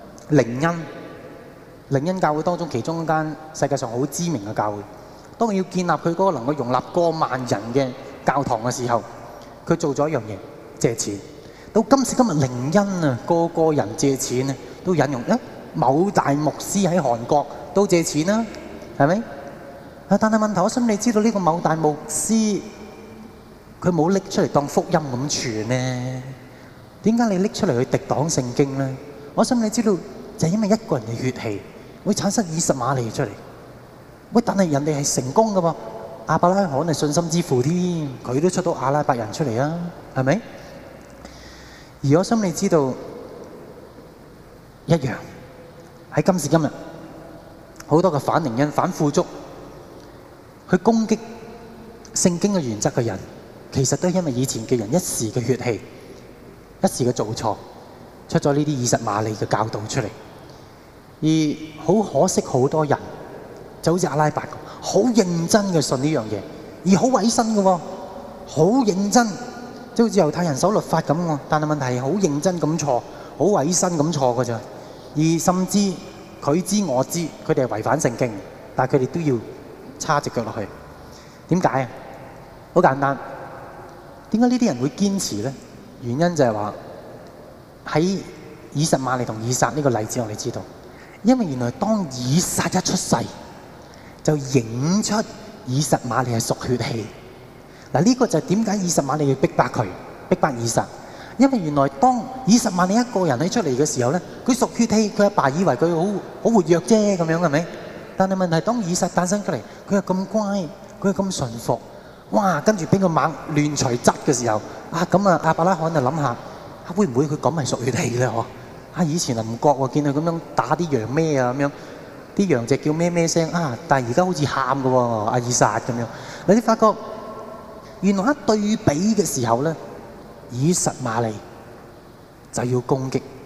靈恩教會當中其中一間世界上好知名嘅教會，當佢要建立佢嗰個能夠容納過萬人嘅教堂嘅時候，佢做咗一樣嘢，借錢。到今時今日靈恩啊，個人借錢啊，都引用某大牧師喺韓國都借錢啦，係咪？但係問題，我想你知道呢個某大牧師佢冇拎出嚟當福音咁傳呢？點解你拎出嚟去敵擋聖經呢？我想你知道就係因為一個人嘅血氣會產生以實瑪利出嚟。喂，但係人哋係成功㗎喎，亞伯拉罕係信心之父添，佢都出到阿拉伯人出嚟啊，係咪？而我想你知道一樣喺今時今日，好多嘅反靈恩、反富足去攻擊聖經嘅原則嘅人，其實都係因為以前嘅人一時嘅血氣、一時嘅做錯，出咗呢啲以實瑪利嘅教導出嚟。而好可惜，好多人就好似阿拉伯咁，好認真嘅信呢樣嘢，而好委身嘅喎，好認真。即好似猶太人守律法咁喎，但係問題係好認真咁錯，好委身咁錯㗎咋。而甚至佢知我知，佢哋係違反聖經，但係佢哋都要叉隻腳落去。點解啊？好簡單，點解呢啲人會堅持咧？原因就係話喺以實瑪利同以撒呢個例子，我哋知道，因為原來當以撒一出世，就影出以實瑪利係屬血氣。嗱，呢個就係點解以實瑪利要逼迫佢，逼迫以撒？因為原來當以實瑪利一個人喺出嚟嘅時候咧，佢屬血氣，佢阿爸以為佢好活躍啫，咁樣係咪？但係問題當以撒誕生出嚟，佢係咁乖，佢係咁順服，哇！跟住俾個猛亂除質嘅時候，咁啊亞伯拉罕就諗下，會唔會佢咁係屬血氣咧？嗬！以前啊唔覺喎，見佢咁樣打啲羊咩啊咁樣，啲羊隻叫咩咩聲但係而家好似喊嘅喎，阿以撒咁樣，你發覺。原來一對比嘅時候咧，以實瑪利就要攻擊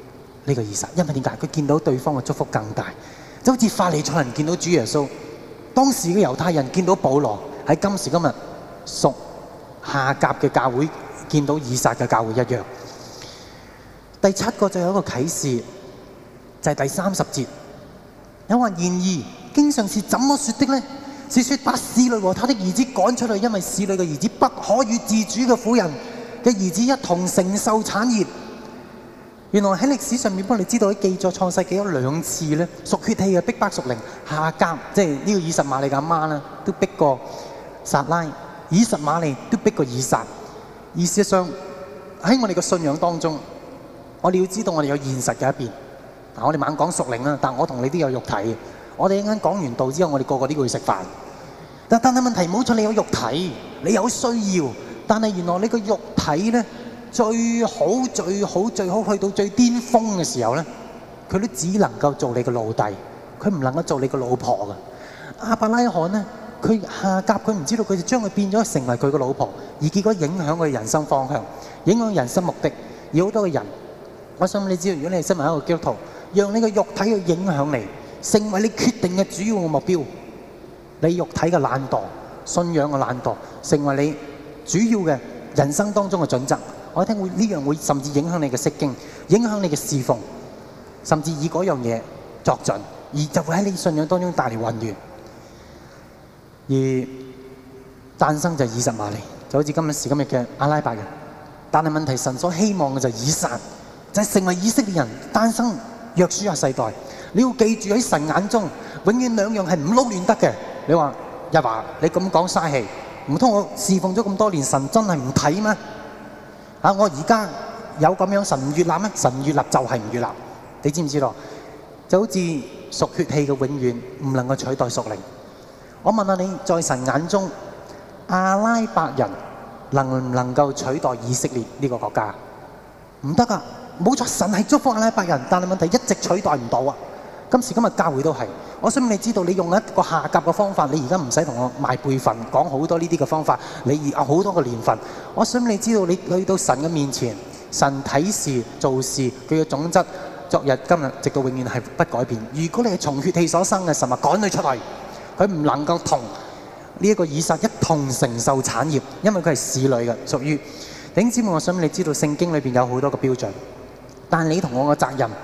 呢個以撒，因為點解？佢見到對方嘅祝福更大，就好似法利賽人見到主耶穌，當時嘅猶太人見到保羅，喺今時今日屬夏甲嘅教會見到以撒嘅教會一樣。第七個就有一個啟示，就係第30節，有話然而經上是怎麼說的呢？是說把使女和他的兒子趕出去，因為使女嘅兒子不可與自主嘅婦人嘅兒子一同承受產業。原來喺歷史上面，幫你知道喺記載創世記有2次咧，屬血氣嘅逼迫屬靈，夏甲即係呢個以實瑪利嘅阿媽啦，都逼過撒拉；以實瑪利都逼過以撒。而事實上喺我哋嘅信仰當中，我哋要知道我哋有現實嘅一邊。嗱，我哋猛講屬靈啦，但我同你都有肉體嘅。我哋一陣講完道之後，我哋個個都要去食飯。但係問題唔好錯，你有肉體，你有需要，但係原來你個肉體咧最好去到最巔峰嘅時候咧，佢都只能夠做你嘅奴隸，佢唔能夠做你嘅老婆嘅。亞伯拉罕咧，佢夏甲佢唔知道，佢就將佢變咗成為佢嘅老婆，而結果影響佢人生方向，影響人生目的。而好多嘅人，我想你知道，如果你係身為一個基督徒，讓你嘅肉體去影響你，成為你決定嘅主要嘅目標。你肉體嘅懶惰、信仰嘅懶惰，成為你主要嘅人生當中嘅準則。我聽會呢樣會甚至影響你嘅釋經，影響你嘅侍奉，甚至以嗰樣嘢作準，而就會喺你信仰當中帶嚟混亂。而誕生就係以實瑪利，就好似今時今日嘅阿拉伯人。但係問題，神所希望嘅就係以撒，就係成為以色列人誕生約書亞世代。你要記住喺神眼中，永遠兩樣係唔撈亂得嘅。你話日華，你咁講嘥氣，唔通我侍奉咗咁多年，神真係唔睇咩？我而家有咁樣，神唔悅納咩？神唔悅納就係唔悅納，你知唔知道？就好似屬血氣嘅永遠唔能夠取代屬靈。我問下你，在神眼中，阿拉伯人能唔能夠取代以色列呢個國家？唔得噶，冇錯，神係祝福阿拉伯人，但係問題一直取代唔到啊！今時今日教會都係，我想你知道，你用一個夏甲嘅方法，你而家唔使同我賣輩份，講好多呢啲嘅方法，你有好多個年份。我想你知道，你去到神嘅面前，神睇事做事，佢嘅種質，昨日今日直到永遠係不改變。如果你係從血氣所生嘅，神話趕佢出嚟，佢唔能夠同呢一個以撒一同承受產業，因為佢係使女嘅，屬於弟兄姊妹。我想你知道，聖經裏邊有好多個標準，但係你同我嘅責任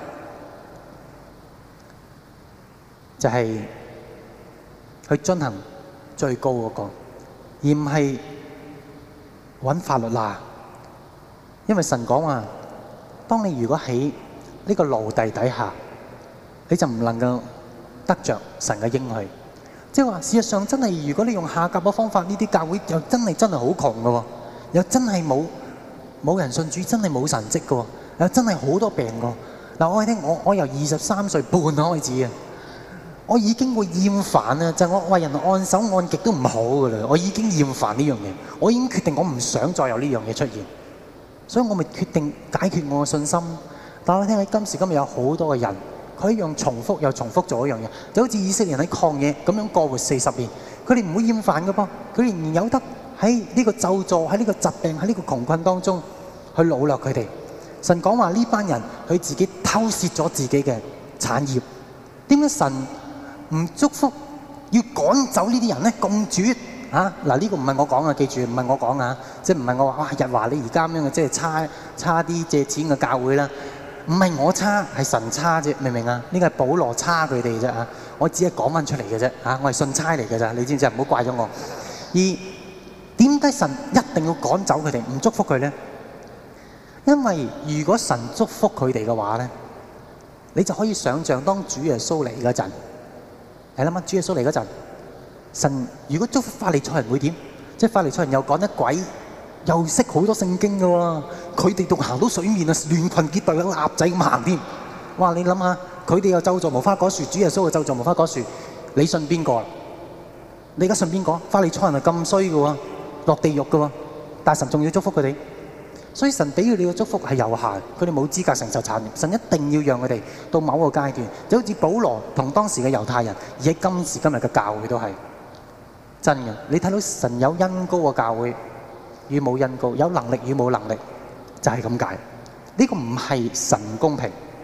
就係去遵行最高嗰個，而唔係揾法律啦。因為神講話，當你如果喺呢個奴隸底下，你就唔能夠得着神嘅應許。即係話，事實上真係，如果你用夏甲嘅方法，呢啲教會又真係好窮嘅喎，又真係冇人信主，真係冇神蹟嘅喎，又真係好多病嘅。嗱，我聽我由23歲半開始啊，我已經會厭煩啦，就係我為人按手按極都唔好嘅啦，我已經厭煩呢樣嘢，我已經決定我唔想再有呢樣嘢出現，所以我咪決定解決我嘅信心。但我聽喺今時今日有好多嘅人，佢一樣重複又重複做一樣嘢，就好似以色列人喺曠野咁樣過活40年，佢哋唔會厭煩嘅噃，佢哋仍然有得喺呢個咒詛、喺呢個疾病、喺呢個窮困當中去擄掠佢哋。神講話呢班人佢自己偷竊咗自己嘅產業，點解神唔祝福要趕走呢啲人咧？咁絕啊！嗱，呢個唔係我講啊，記住唔係我講啊，即係唔係我話哇日華你而家咁樣嘅，即係差啲借錢嘅教會啦。唔係我差，係神差啫，明唔明啊？呢個係保羅差佢哋啫啊！我只係講翻出嚟嘅啫啊！我係信差嚟嘅咋，你知唔知啊？唔好怪咗我。而點解神一定要趕走佢哋，唔祝福佢咧？因為如果神祝福佢哋嘅話咧，你就可以想像當主耶穌嚟嗰陣，係啦嘛，主耶穌嚟嗰陣，神如果祝福法利賽人會點？即係法利賽人又趕得鬼，又識好多聖經嘅喎，佢哋仲行到水面啊，亂群結隊，有鴨仔咁行添。哇！你諗下，佢哋又咒詛無花果樹，主耶穌又咒詛無花果樹，你信邊個？你而家信邊個？法利賽人係咁衰嘅喎，落地獄嘅喎，但係神仲要祝福佢哋。所以神俾佢哋嘅祝福係有限，佢哋冇資格承受產業。神一定要讓佢哋到某個階段，就好似保羅同當時嘅猶太人，而喺今時今日嘅教會都係真嘅。你睇到神有恩膏嘅教會與冇恩膏，有能力與冇能力，就係咁解。呢個唔係神公平，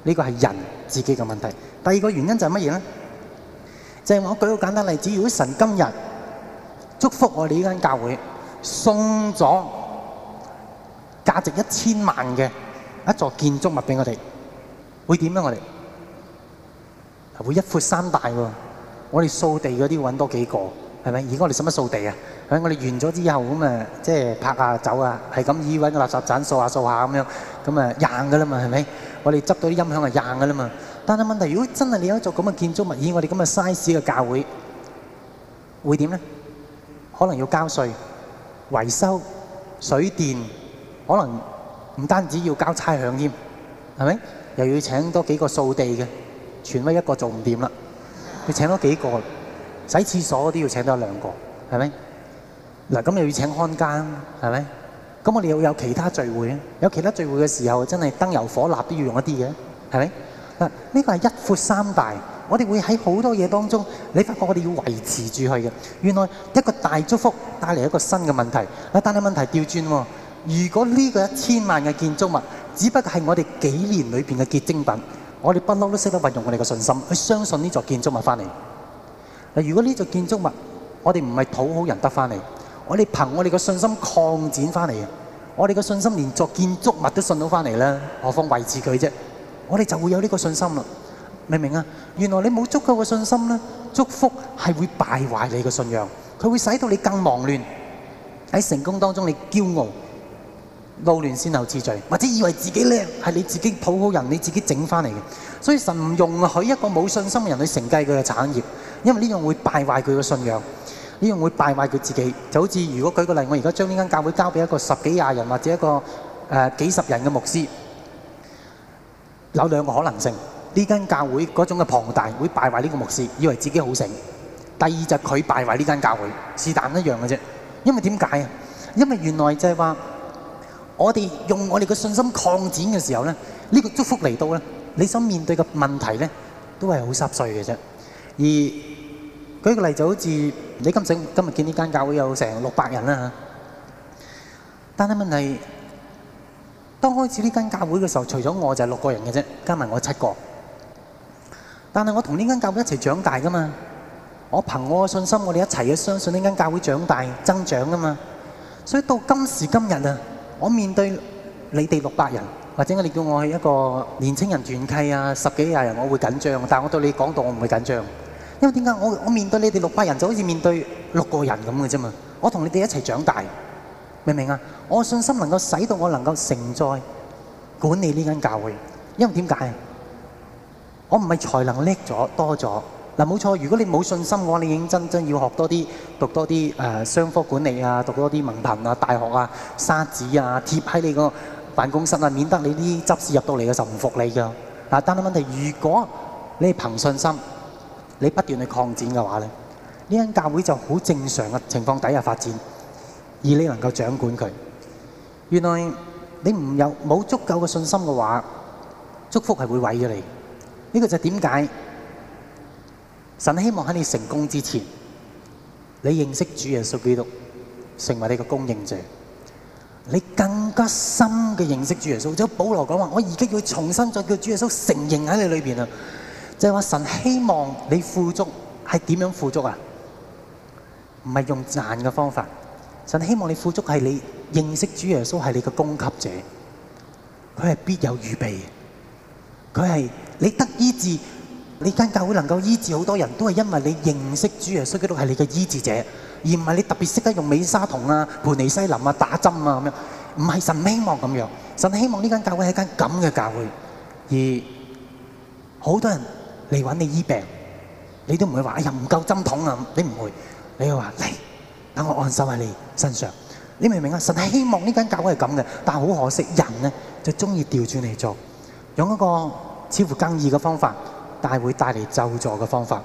呢個係人自己嘅問題。第二個原因就係乜嘢咧？就係我舉個簡單例子，如果神今日祝福我哋呢間教會，送咗價值1000萬嘅一座建築物俾我哋，會點咧？我哋會一闊三大喎。我哋掃地嗰啲揾多幾個，係咪？而家我哋使乜掃地啊？係咪？我哋完咗之後咁啊，即係拍下走啊，係咁依揾個垃圾鏟掃下掃下咁樣，咁啊硬㗎啦嘛，係咪？我哋執到啲音響係硬㗎啦嘛。但係問題，如果真係你有一座咁嘅建築物，以我哋咁嘅 size 嘅教會，會點咧？可能要交稅、維修、水電，可能唔單止要交差餉添，係咪？又要請多幾個掃地嘅，全威一個做唔掂啦，要請多幾個，洗廁所都要請多2個，係咪？嗱，咁又要請看更，係咪？咁我哋又有其他聚會啊，有其他聚會嘅時候，真係燈油火蠟都要用一啲嘅，係咪？嗱，呢個係一闊三大，我哋會喺好多嘢當中，你發覺我哋要維持住佢嘅。原來一個大祝福帶嚟一個新嘅問題。但係問題調轉喎，如果呢個1000萬嘅建築物，只不過係我哋幾年裏邊嘅結晶品，我哋不嬲都識得運用我哋嘅信心去相信呢座建築物翻嚟。嗱，如果呢座建築物我哋唔係討好人得翻嚟，我哋憑我哋嘅信心擴展翻嚟嘅，我哋嘅信心連座建築物都信到翻嚟啦，何況維持佢啫？我哋就會有呢個信心啦，明唔明啊？原來你冇足夠嘅信心咧，祝福係會敗壞你嘅信仰，佢會使到你更忙亂，喺成功當中你驕傲、撈亂先後次序，或者以為自己叻係你自己討好人，你自己整翻嚟嘅。所以神唔容許一個冇信心嘅人去承繼佢嘅產業，因為呢樣會敗壞佢嘅信仰，呢樣會敗壞佢自己。就好似如果舉個例，我而家將呢間教會交俾一個10幾20人或者一個幾十人嘅牧師。有2個可能性，呢間教會嗰種嘅龐大會敗壞呢個牧師，以為自己好醒。第二就係佢敗壞呢間教會，是但一樣嘅啫。因為點解啊？因為原來就係話，我哋用我哋嘅信心擴展嘅時候咧，呢個祝福嚟到咧，你所面對嘅問題咧，都係好濕碎嘅啫。而舉個例就好似你今日見呢間教會有成600人啦嚇，但係問題，當開始呢間教會嘅時候，除咗我就係6個人嘅啫，加埋我7個。但係我同呢間教會一齊長大噶嘛，我憑我嘅信心，我哋一齊去相信呢間教會長大增長噶嘛。所以到今時今日啊，我面對你哋600人，或者我哋叫我去一個年青人團契啊，10幾20人，我會緊張。但係我對你講道，我唔會緊張，因為點解？我面對你哋600人就好似面對6個人咁嘅啫嘛。我同你哋一齊長大。明唔明啊？我信心能夠使到我能夠承載管理呢間教會，因為點解啊？我唔係才能叻咗多咗嗱，冇錯。如果你冇信心嘅話，你認真要學多啲，讀多啲商科管理啊，讀多啲文憑啊、大學啊、沙紙啊，貼喺你個辦公室啊，免得你啲執事入到嚟嘅時候唔服你㗎嗱。但係問題，如果你係憑信心，你不斷去擴展嘅話咧，呢間教會就好正常嘅情況底下發展。而你能夠掌管佢，原來你冇足夠嘅信心嘅話，祝福係會毀咗你。呢個就係點解神希望喺你成功之前，你認識主耶穌基督，成為你嘅供應者，你更加深嘅認識主耶穌。就保羅講話，我而家要重新再叫主耶穌承認喺你裏邊啊！就係話神希望你富足係點樣富足啊？唔係用賺嘅方法。神希望你富足係你認識主耶穌係你嘅供給者，佢係必有預備嘅，佢係你得醫治，你間教會能夠醫治好多人都係因為你認識主耶穌基督係你嘅醫治者，而唔係你特別識得用美沙酮啊、盤尼西林啊、打針啊咁樣，唔係神希望咁樣，神希望呢間教會係間咁嘅教會，而好多人嚟揾你醫病，你都唔會話哎呀唔夠針筒啊，你唔會，你會話嚟。等我安心喺你身上，你明唔明啊？神係希望呢間教會係咁嘅，但係好可惜，人呢就中意調轉嚟做，用一個似乎更易嘅方法，但係會帶嚟咒詛嘅方法。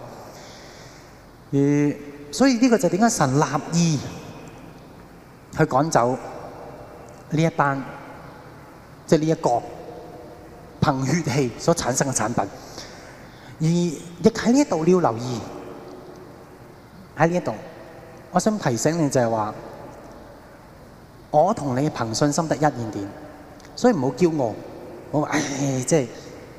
所以呢個就點解神立意去趕走呢一班，即係呢一個憑血氣所產生嘅產品，而亦喺呢一度你要留意喺呢一度。我想提醒你就係話，我同你憑信心得一點點，所以唔好驕傲。我話即係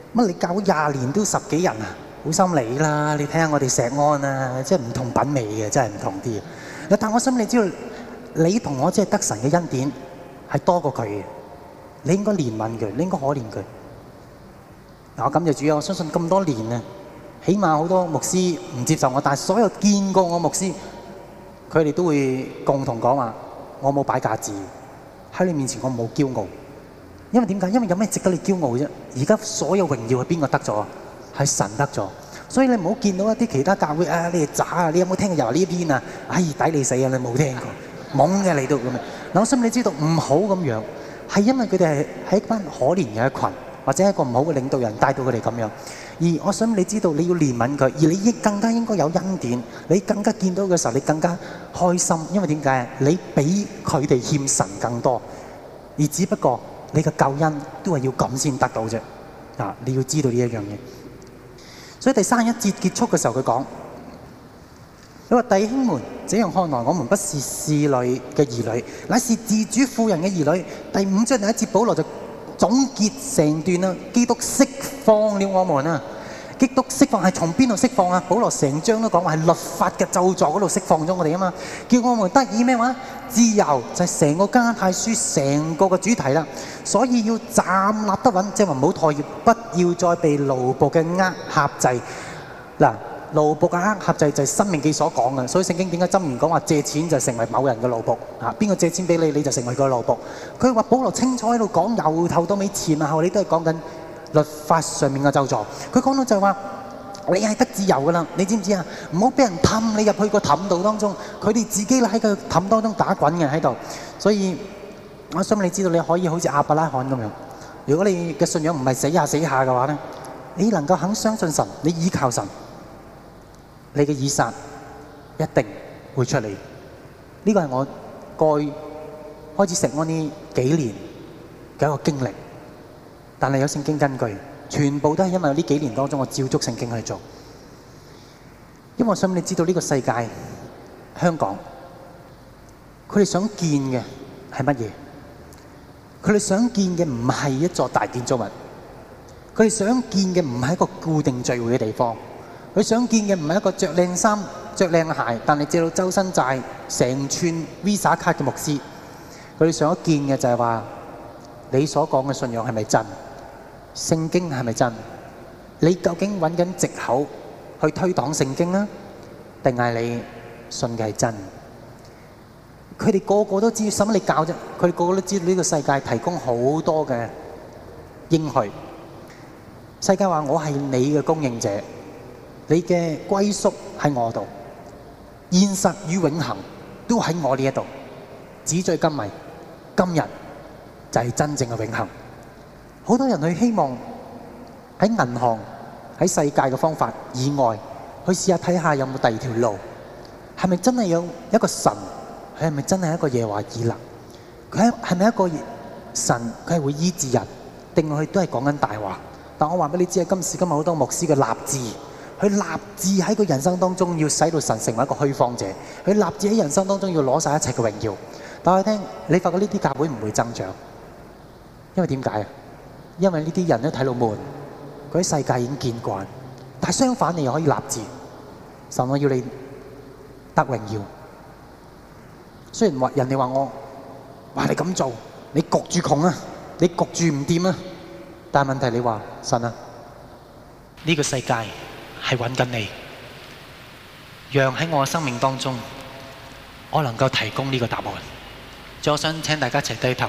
乜你教20年都10幾人啊？好心理啦！你睇下我哋石安啊，即係唔同品味嘅，真係唔同啲嘅。但我心你知道，你同我即係得神嘅恩典係多過佢嘅，你應該憐憫佢，你應該可憐佢。我感謝主啊！我相信咁多年啊，起碼好多牧師唔接受我，但係所有見過我牧師，佢哋都會共同講話：我冇擺架子喺你面前，我冇驕傲。因為點解？因為有咩值得你驕傲啫？而家所有榮耀係邊個得咗？係神得咗。所以你唔好見到一啲其他教會啊，你係渣啊！你有冇聽過又話呢邊啊？唉，抵你死啊！你冇聽過，懵嘅你都咁樣。嗱，我心你知道唔好咁樣，係因為佢哋係一班可憐嘅一群，或者一個唔好嘅領導人帶到佢哋咁樣。而我想你知道，你要憐憫佢，而你亦更加應該有恩典。你更加見到嘅時候，你更加開心，因為點解？你比佢哋欠神更多，而只不過你嘅救恩都係要咁先得到啫。啊，你要知道呢一樣嘢。所以第31節結束嘅時候，佢講：佢話弟兄們，這樣看來，我們不是侍女嘅兒女，乃是自主婦人嘅兒女。第5章第1節，保羅就總結成段啦。基督釋放了我們啊！基督釋放係從邊度釋放啊？保羅成章都講話係律法嘅咒詛嗰度釋放咗我哋啊嘛，叫我們得以咩話？自由，就係成個加拉太書成個嘅主題啦。所以要站立得穩，即係話唔好妥協，不要再被奴僕嘅軛制。嗱，奴僕嘅軛制就係申命記所講嘅，所以聖經點解箴言講話借錢就成為某人嘅奴僕啊？邊個借錢俾你，你就成為佢嘅奴僕。佢話保羅清楚喺度講，由頭到尾前後你都係講緊律法上面嘅咒詛。佢講到就係話你係得自由噶啦，你知唔知啊？唔好俾人氹你入去個氹度當中，佢哋自己喺個氹當中打滾嘅喺度。所以我想你知道，你可以好似亞伯拉罕咁樣，如果你嘅信仰唔係死下死下嘅話咧，你能夠肯相信神，你依靠神，你嘅以撒一定會出嚟。呢個係我過去開始食安呢幾年嘅一個經歷。但係有聖經根據，全部都係因為呢幾年當中我照足聖經去做。因為我想你知道呢個世界，香港，佢哋想見嘅係乜嘢？佢哋想見嘅唔係一座大建築物，佢哋想見嘅唔係一個固定聚會嘅地方，佢想見嘅唔係一個着靚衫、着靚鞋，但係借到周身債、成串 Visa 卡嘅牧師。佢哋想見嘅就係話，你所講嘅信仰係咪真？聖經係咪真？你究竟揾緊藉口去推擋聖經啊？定係你信嘅係真？佢哋個個都知，使乜你教啫？佢哋個個都知道呢個世界提供好多嘅應許。世界話我係你嘅供應者，你嘅歸宿喺我度，現實與永恆都喺我呢一度。紙醉金迷，今日就係真正嘅永恆。好多人去希望喺銀行、喺世界嘅方法以外，去試下睇下有冇第二條路，係咪真係有一個神？佢係咪真係一個耶和華以勒？佢係咪一個神？佢係會醫治人，定佢都係講緊大話？但我話俾你知，今時今日好多牧師嘅立志，佢立志喺個人生當中要使到神成為一個虛謊者，佢立志喺人生當中要攞晒一切嘅榮耀。但我聽你發覺呢啲教會唔會增長，因為點解啊？因為呢啲人都睇到悶，佢喺世界已經見慣。但係相反，你又可以立志，神我要你得榮耀。雖然話人哋話我，話你咁做，你焗住窮啊，你焗住唔掂啊。但係問題你話神啊，呢個世界係揾緊你，讓喺我嘅生命當中，我能夠提供呢個答案。最後我想請大家一齊低頭。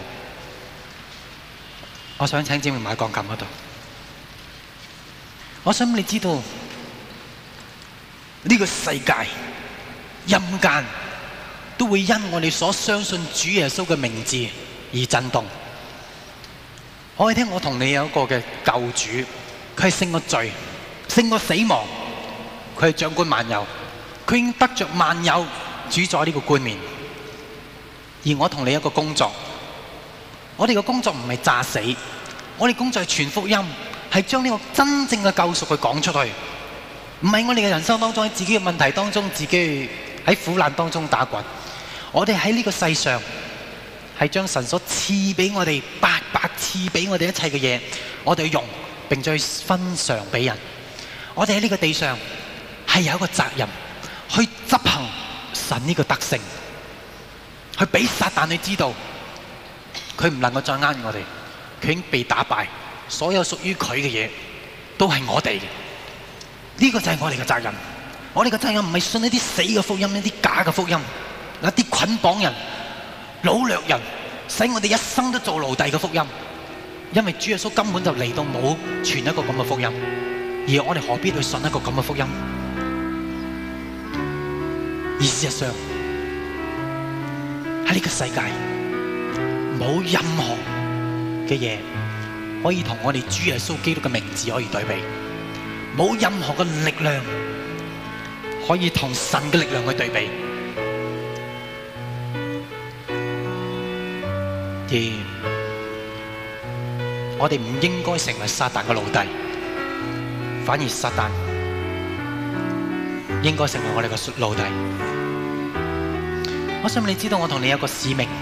我想請姊妹買鋼琴嗰度。我想你知道呢個世界陰間都會因我哋所相信主耶穌嘅名字而震動。我可以聽我同你有一個嘅救主，佢係勝過罪、勝過死亡，佢係掌管萬有，佢已經得着萬有主宰呢個冠冕。而我同你一個工作，我哋嘅工作唔係詐死，我哋工作係傳福音，係將呢個真正嘅救贖去講出去，唔係我哋嘅人生當中喺自己嘅問題當中，自己喺苦難當中打滾。我哋喺呢個世上係將神所賜俾我哋白白賜俾我哋一切嘅嘢，我哋用並再分償俾人。我哋喺呢個地上係有一個責任去執行神呢個特性，去俾撒旦去知道佢唔能夠再呃我哋，佢已經被打敗，所有屬於佢嘅嘢都係我哋嘅。呢個就係我哋嘅責任。我哋嘅責任唔係信一啲死嘅福音，一啲假嘅福音，一啲捆綁人、擄掠人，使我哋一生都做奴隸嘅福音。因為主耶穌根本就嚟到冇傳一個咁嘅福音，而我哋何必去信一個咁嘅福音？而事實上喺呢個世界冇任何嘅嘢可以同我哋主耶穌基督嘅名字可以對比，冇任何嘅力量可以同神嘅力量去對比。而我哋唔應該成為撒旦嘅奴隸，反而撒旦應該成為我哋嘅奴隸。我想你知道我同你有個使命，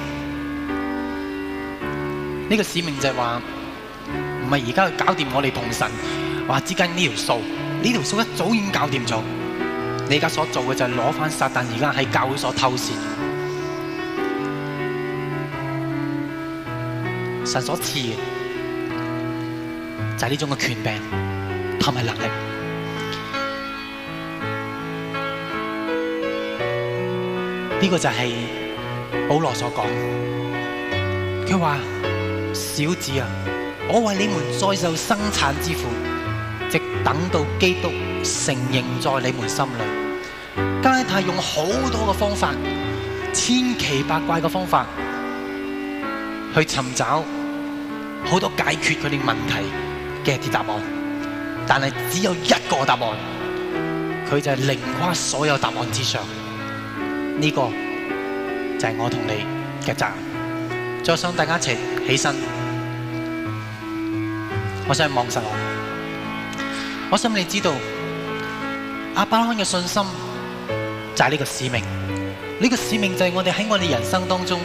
呢個使命就係話唔係而家去搞掂我哋同神話之間呢條數，呢條數一早已經搞掂咗。你而家所做嘅就係攞返撒旦而家喺教會所偷竊神所賜嘅，就係呢種嘅權柄同埋能力。呢個就係保羅所講，佢話：小子啊，我為你們再受生產之苦，直等到基督成形在你們心裏。加拉太用好多嘅方法，千奇百怪嘅方法，去尋找好多解決佢哋問題嘅一啲答案，但係只有一個答案，佢就係凌跨所有答案之上。呢個就係我同你嘅責任。再想大家一齊起身，我想望實我想你知道亞伯拉罕嘅信心就係呢個使命。呢個使命就係我哋喺我哋人生當中，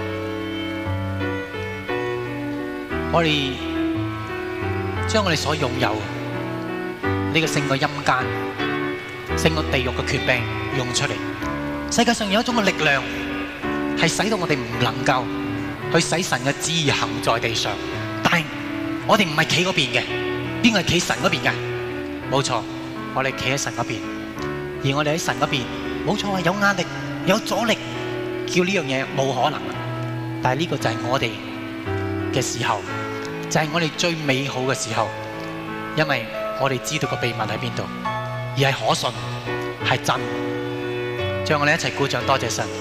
我哋將我哋所擁有呢個勝過陰間、勝過地獄嘅權柄用出嚟。世界上有一種嘅力量，係使到我哋唔能夠去使神嘅旨意行在地上。但係我哋唔係企嗰邊嘅，邊個係企神嗰邊嘅？冇錯，我哋企喺神嗰邊。而我哋喺神嗰邊，冇錯，有壓力、有阻力，叫呢樣嘢冇可能。但係呢個就係我哋嘅時候，就係我哋最美好嘅時候，因為我哋知道個秘密喺邊度，而係可信，係真。讓我哋一齊鼓掌，多謝神。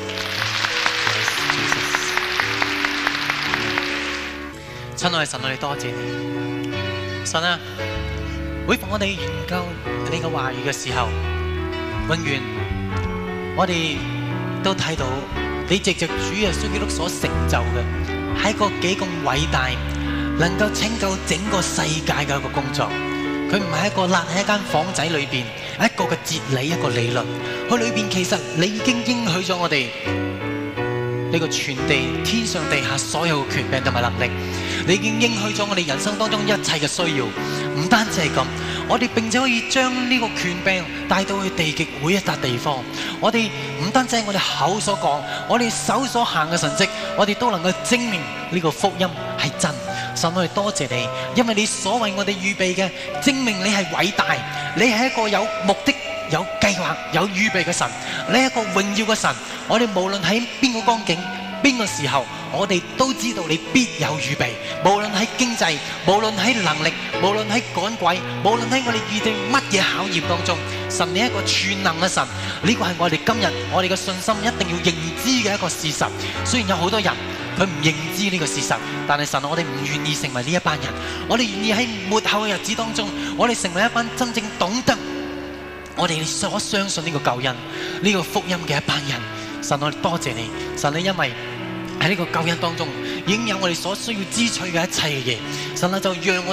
親愛嘅神，我哋多謝你。神啊，每逢我哋研究你嘅話語嘅時候，永遠我哋都睇到你藉着主耶穌基督所成就嘅係一個幾咁偉大，能夠拯救整個世界嘅一個工作。佢唔係一個揦喺一間房仔裏邊一個嘅哲理，一個理論。佢裏邊其實你已經應許咗我哋呢個全地天上地下所有嘅權柄同埋能力。你已經應許咗我哋人生當中一切嘅需要。唔單止係咁，我哋並且可以將呢個權柄帶到去地極每一笪地方。我哋唔單止係我哋口所講，我哋手所行嘅神蹟，我哋都能夠證明呢個福音係真。神，我哋多謝你，因為你所為我哋預備嘅，證明你係偉大，你係一個有目的、有計劃、有預備嘅神，你係一個榮耀嘅神。我哋無論喺邊個光景、邊個時候，我哋都知道你必有預備。無論喺經濟，無論喺能力，無論喺趕鬼，無論喺我哋遇到乜嘢考驗當中，神你係一個全能嘅神。呢個係我哋今日我哋嘅信心一定要認知嘅一個事實。雖然有好多人佢唔認知呢個事實，但係神，我哋唔願意成為呢一班人。我哋願意喺末後嘅日子當中，我哋成為一班真正懂得我哋所相信呢個救恩、呢個福音嘅一班人。神，我哋多謝你，神，你因為喺呢個救恩當中已經有我哋所需要支取嘅一切嘅嘢。神啊，就讓我哋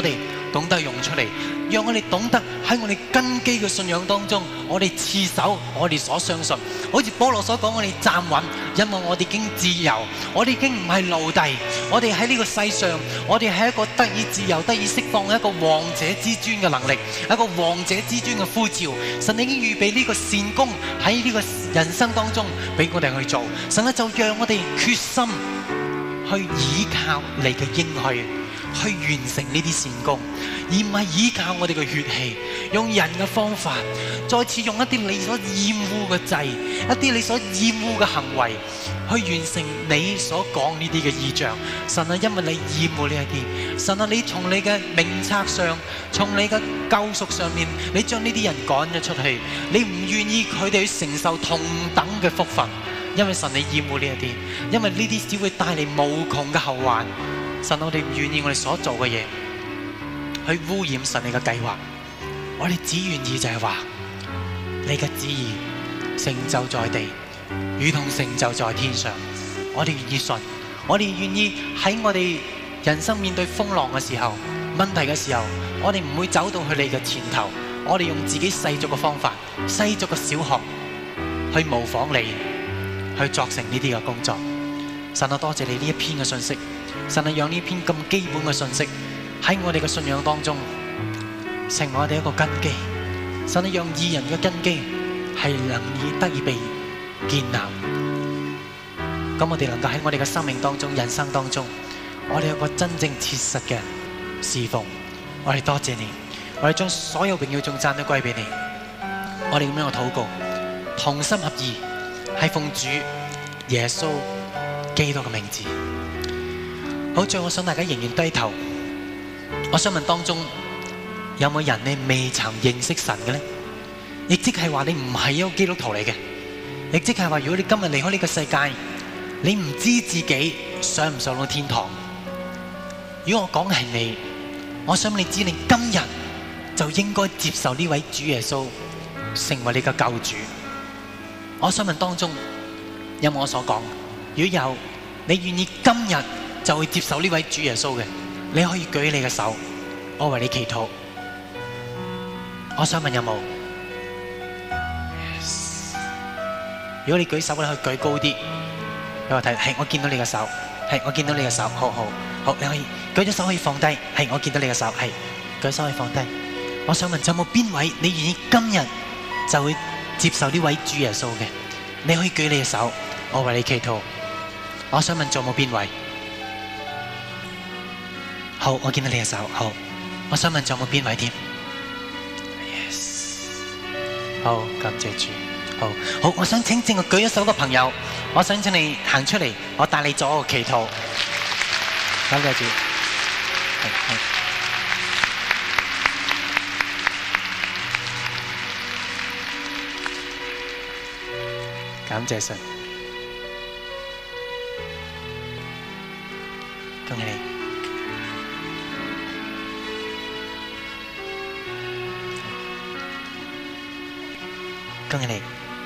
懂得用出嚟，讓我哋懂得喺我哋根基嘅信仰當中，我哋持守我哋所相信。好似保羅所講，我哋站穩，因為我哋已經自由，我哋已經唔係奴隸，我哋喺呢個世上，我哋係一個得以自由、得以釋放嘅一個王者之尊嘅能力，一個王者之尊嘅呼召。神已經預備呢個善功喺呢個人生當中俾我哋去做。神咧就讓我哋決心去倚靠你嘅應許，去完成呢啲善功，而唔係依靠我哋嘅血氣，用人嘅方法，再次用一啲你所厭惡嘅祭，一啲你所厭惡嘅行為，去完成你所講呢啲嘅異象。神啊，因為你厭惡呢一啲，神啊，你從你嘅名冊上，從你嘅救贖上面，你將呢啲人趕咗出去，你唔願意佢哋去承受同等嘅福分，因為神你厭惡呢一啲，因為呢啲只會帶嚟無窮嘅後患。神，我哋唔願意我哋所做嘅嘢去污染神你嘅計劃，我哋只願意就係話你嘅旨意成就在地，如同成就在天上。我哋願意信，我哋願意喺我哋人生面對風浪嘅時候、問題嘅時候，我哋唔會走到去你嘅前頭，我哋用自己世俗嘅方法、世俗嘅小學去模仿你，去作成呢啲嘅工作。神啊，多謝你呢一篇嘅信息。神啊，讓呢篇咁基本嘅信息喺我哋嘅信仰當中成為我哋一個根基。神啊，讓義人嘅根基係能以得以被建立。咁我哋能夠喺我哋嘅生命當中、人生當中，我哋有個真正切實嘅侍奉。我哋多謝你，我哋將所有榮耀頌讚都歸俾你。我哋咁樣嘅禱告，同心合意，係奉主耶穌基督嘅名字。好，最後我想大家仍然低頭。我想問當中有冇人你未曾認識神嘅呢？亦即係話你唔係一個基督徒嚟嘅，亦即係話如果你今日離開呢個世界，你唔知自己上唔上到天堂。如果我講係你，我想你知你今日就應該接受呢位主耶穌成為你嘅救主。我想問當中有冇我所講？如果有，你願意今日就會接受呢位主耶穌嘅，你可以舉你嘅手，我為你祈禱。我想問有冇？ Yes. 如果你舉手咧，可以舉高啲，俾我睇。係，我見到你嘅手。係，我見到你嘅手。好好好，你可以舉咗手可以放低。係，我見到你嘅手。係，舉手可以放低。我想問，有冇邊位你願意今日就會接受呢位主耶穌嘅？你可以舉你嘅手，我為你祈禱。我想問，仲有冇邊位？好，我見到你嘅手。好，我想問仲有冇邊位添 ？Yes。好，感謝主。好，我想請正我舉咗手嘅朋友，我想請你行出嚟，我帶你做一個祈禱。感謝主。感謝神。恭喜你。恭喜你，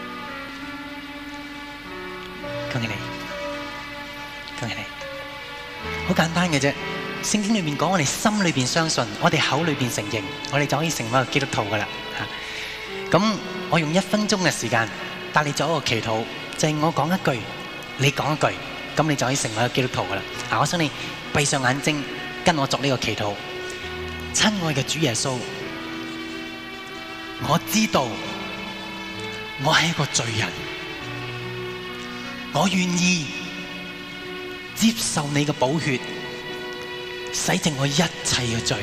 恭喜你，恭喜你！好簡單嘅啫，聖經裏面講，我哋心裏邊相信，我哋口裏邊承認，我哋就可以成為一個基督徒噶啦。咁我用1分鐘嘅時間帶你做一個祈禱，就係我講一句，你講一句，咁你就可以成為一個基督徒噶啦。我想你閉上眼睛，跟我作呢個祈禱。親愛嘅主耶穌，我知道我係一個罪人，我願意接受你嘅寶血洗淨我一切嘅罪，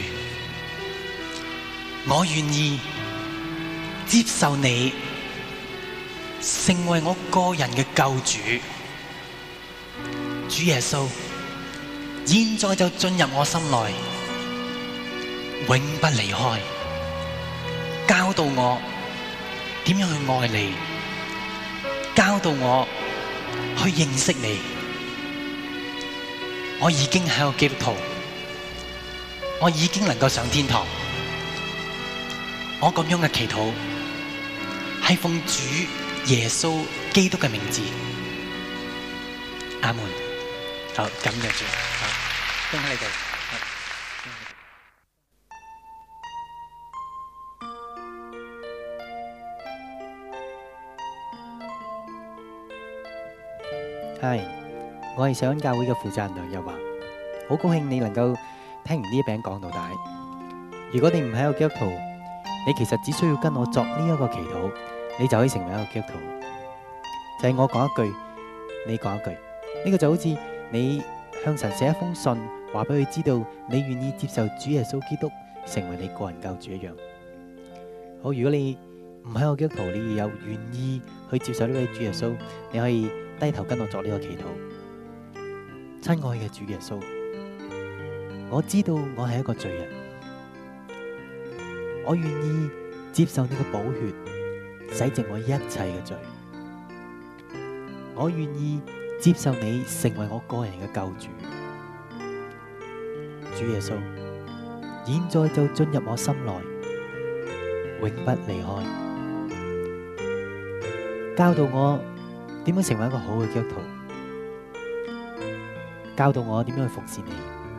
我願意接受你成為我個人嘅救主。主耶穌，現在就進入我心內，永不離開，教導我點樣去愛你，教導我去認識你。我已經係個基督徒，我已經能夠上天堂。我咁樣嘅祈禱係奉主耶穌基督嘅名字，阿門。好，感謝主，恭喜你哋。 係，我係上恩教會嘅負責人梁日華，好高興你能夠聽完呢一餅講到大。如果你唔係一個基督徒，你其實只需要跟我作呢一個祈禱，你就可以成為一個基督徒。就係我講一句，你講一句，呢個就好似你向神寫一封信，話俾佢知道你願意接受主耶穌基督成為你個人救主一樣。好，如果你唔係一個基督徒，你有願意去接受呢位主耶穌，你可以低頭跟我作呢個祈禱。親愛嘅主耶穌，我知道我係一個罪人，我願意接受你嘅寶血洗淨我一切嘅罪，我願意接受你成為我個人嘅救主。主耶穌，現在就進入我心內，永不離開，教導我點樣成為一個好嘅基督徒，教導我點樣去服侍你。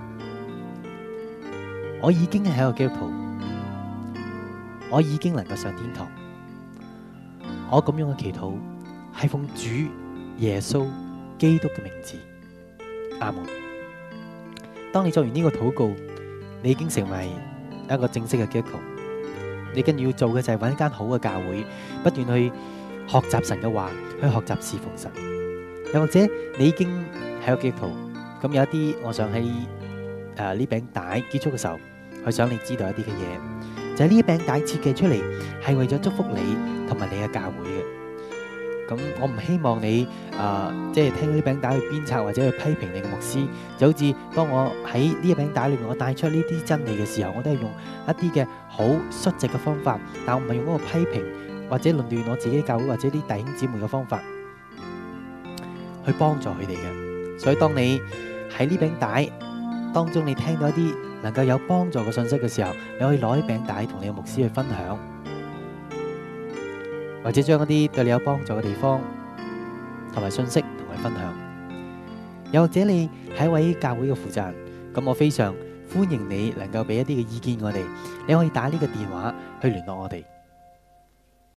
我已經係一個基督徒，我已經能夠上天堂。我咁樣嘅祈禱係奉主耶穌基督嘅名字，阿門。當你做完呢個禱告，你已經成為一個正式嘅基督徒。你跟住要做嘅就係揾一間好嘅教會，不斷去學習神嘅話，去學習侍奉神。又或者你已經係個基督徒，咁有一啲，我想喺呢餅帶結束嘅時候，去想你知道一啲嘅嘢，就係呢一餅帶設計出嚟係為咗祝福你同埋你嘅教會嘅。咁我唔希望你即係聽到呢餅帶去鞭策或者去批評你嘅牧師，就好似當我喺呢一餅帶裏面我帶出呢啲真理嘅時候，我都係用一啲嘅好率直嘅方法，但我唔係用嗰個批評或者論斷我自己教會或者啲弟兄姊妹嘅方法去幫助佢哋嘅。所以當你喺呢餅帶當中你聽到一啲能夠有幫助嘅信息嘅時候，你可以攞呢餅帶同你嘅牧師去分享，或者將一啲對你有幫助嘅地方同埋信息同佢分享。又或者你係一位教會嘅負責人，咁我非常歡迎你能夠俾一啲嘅意見我哋。你可以打呢個電話去聯絡我哋，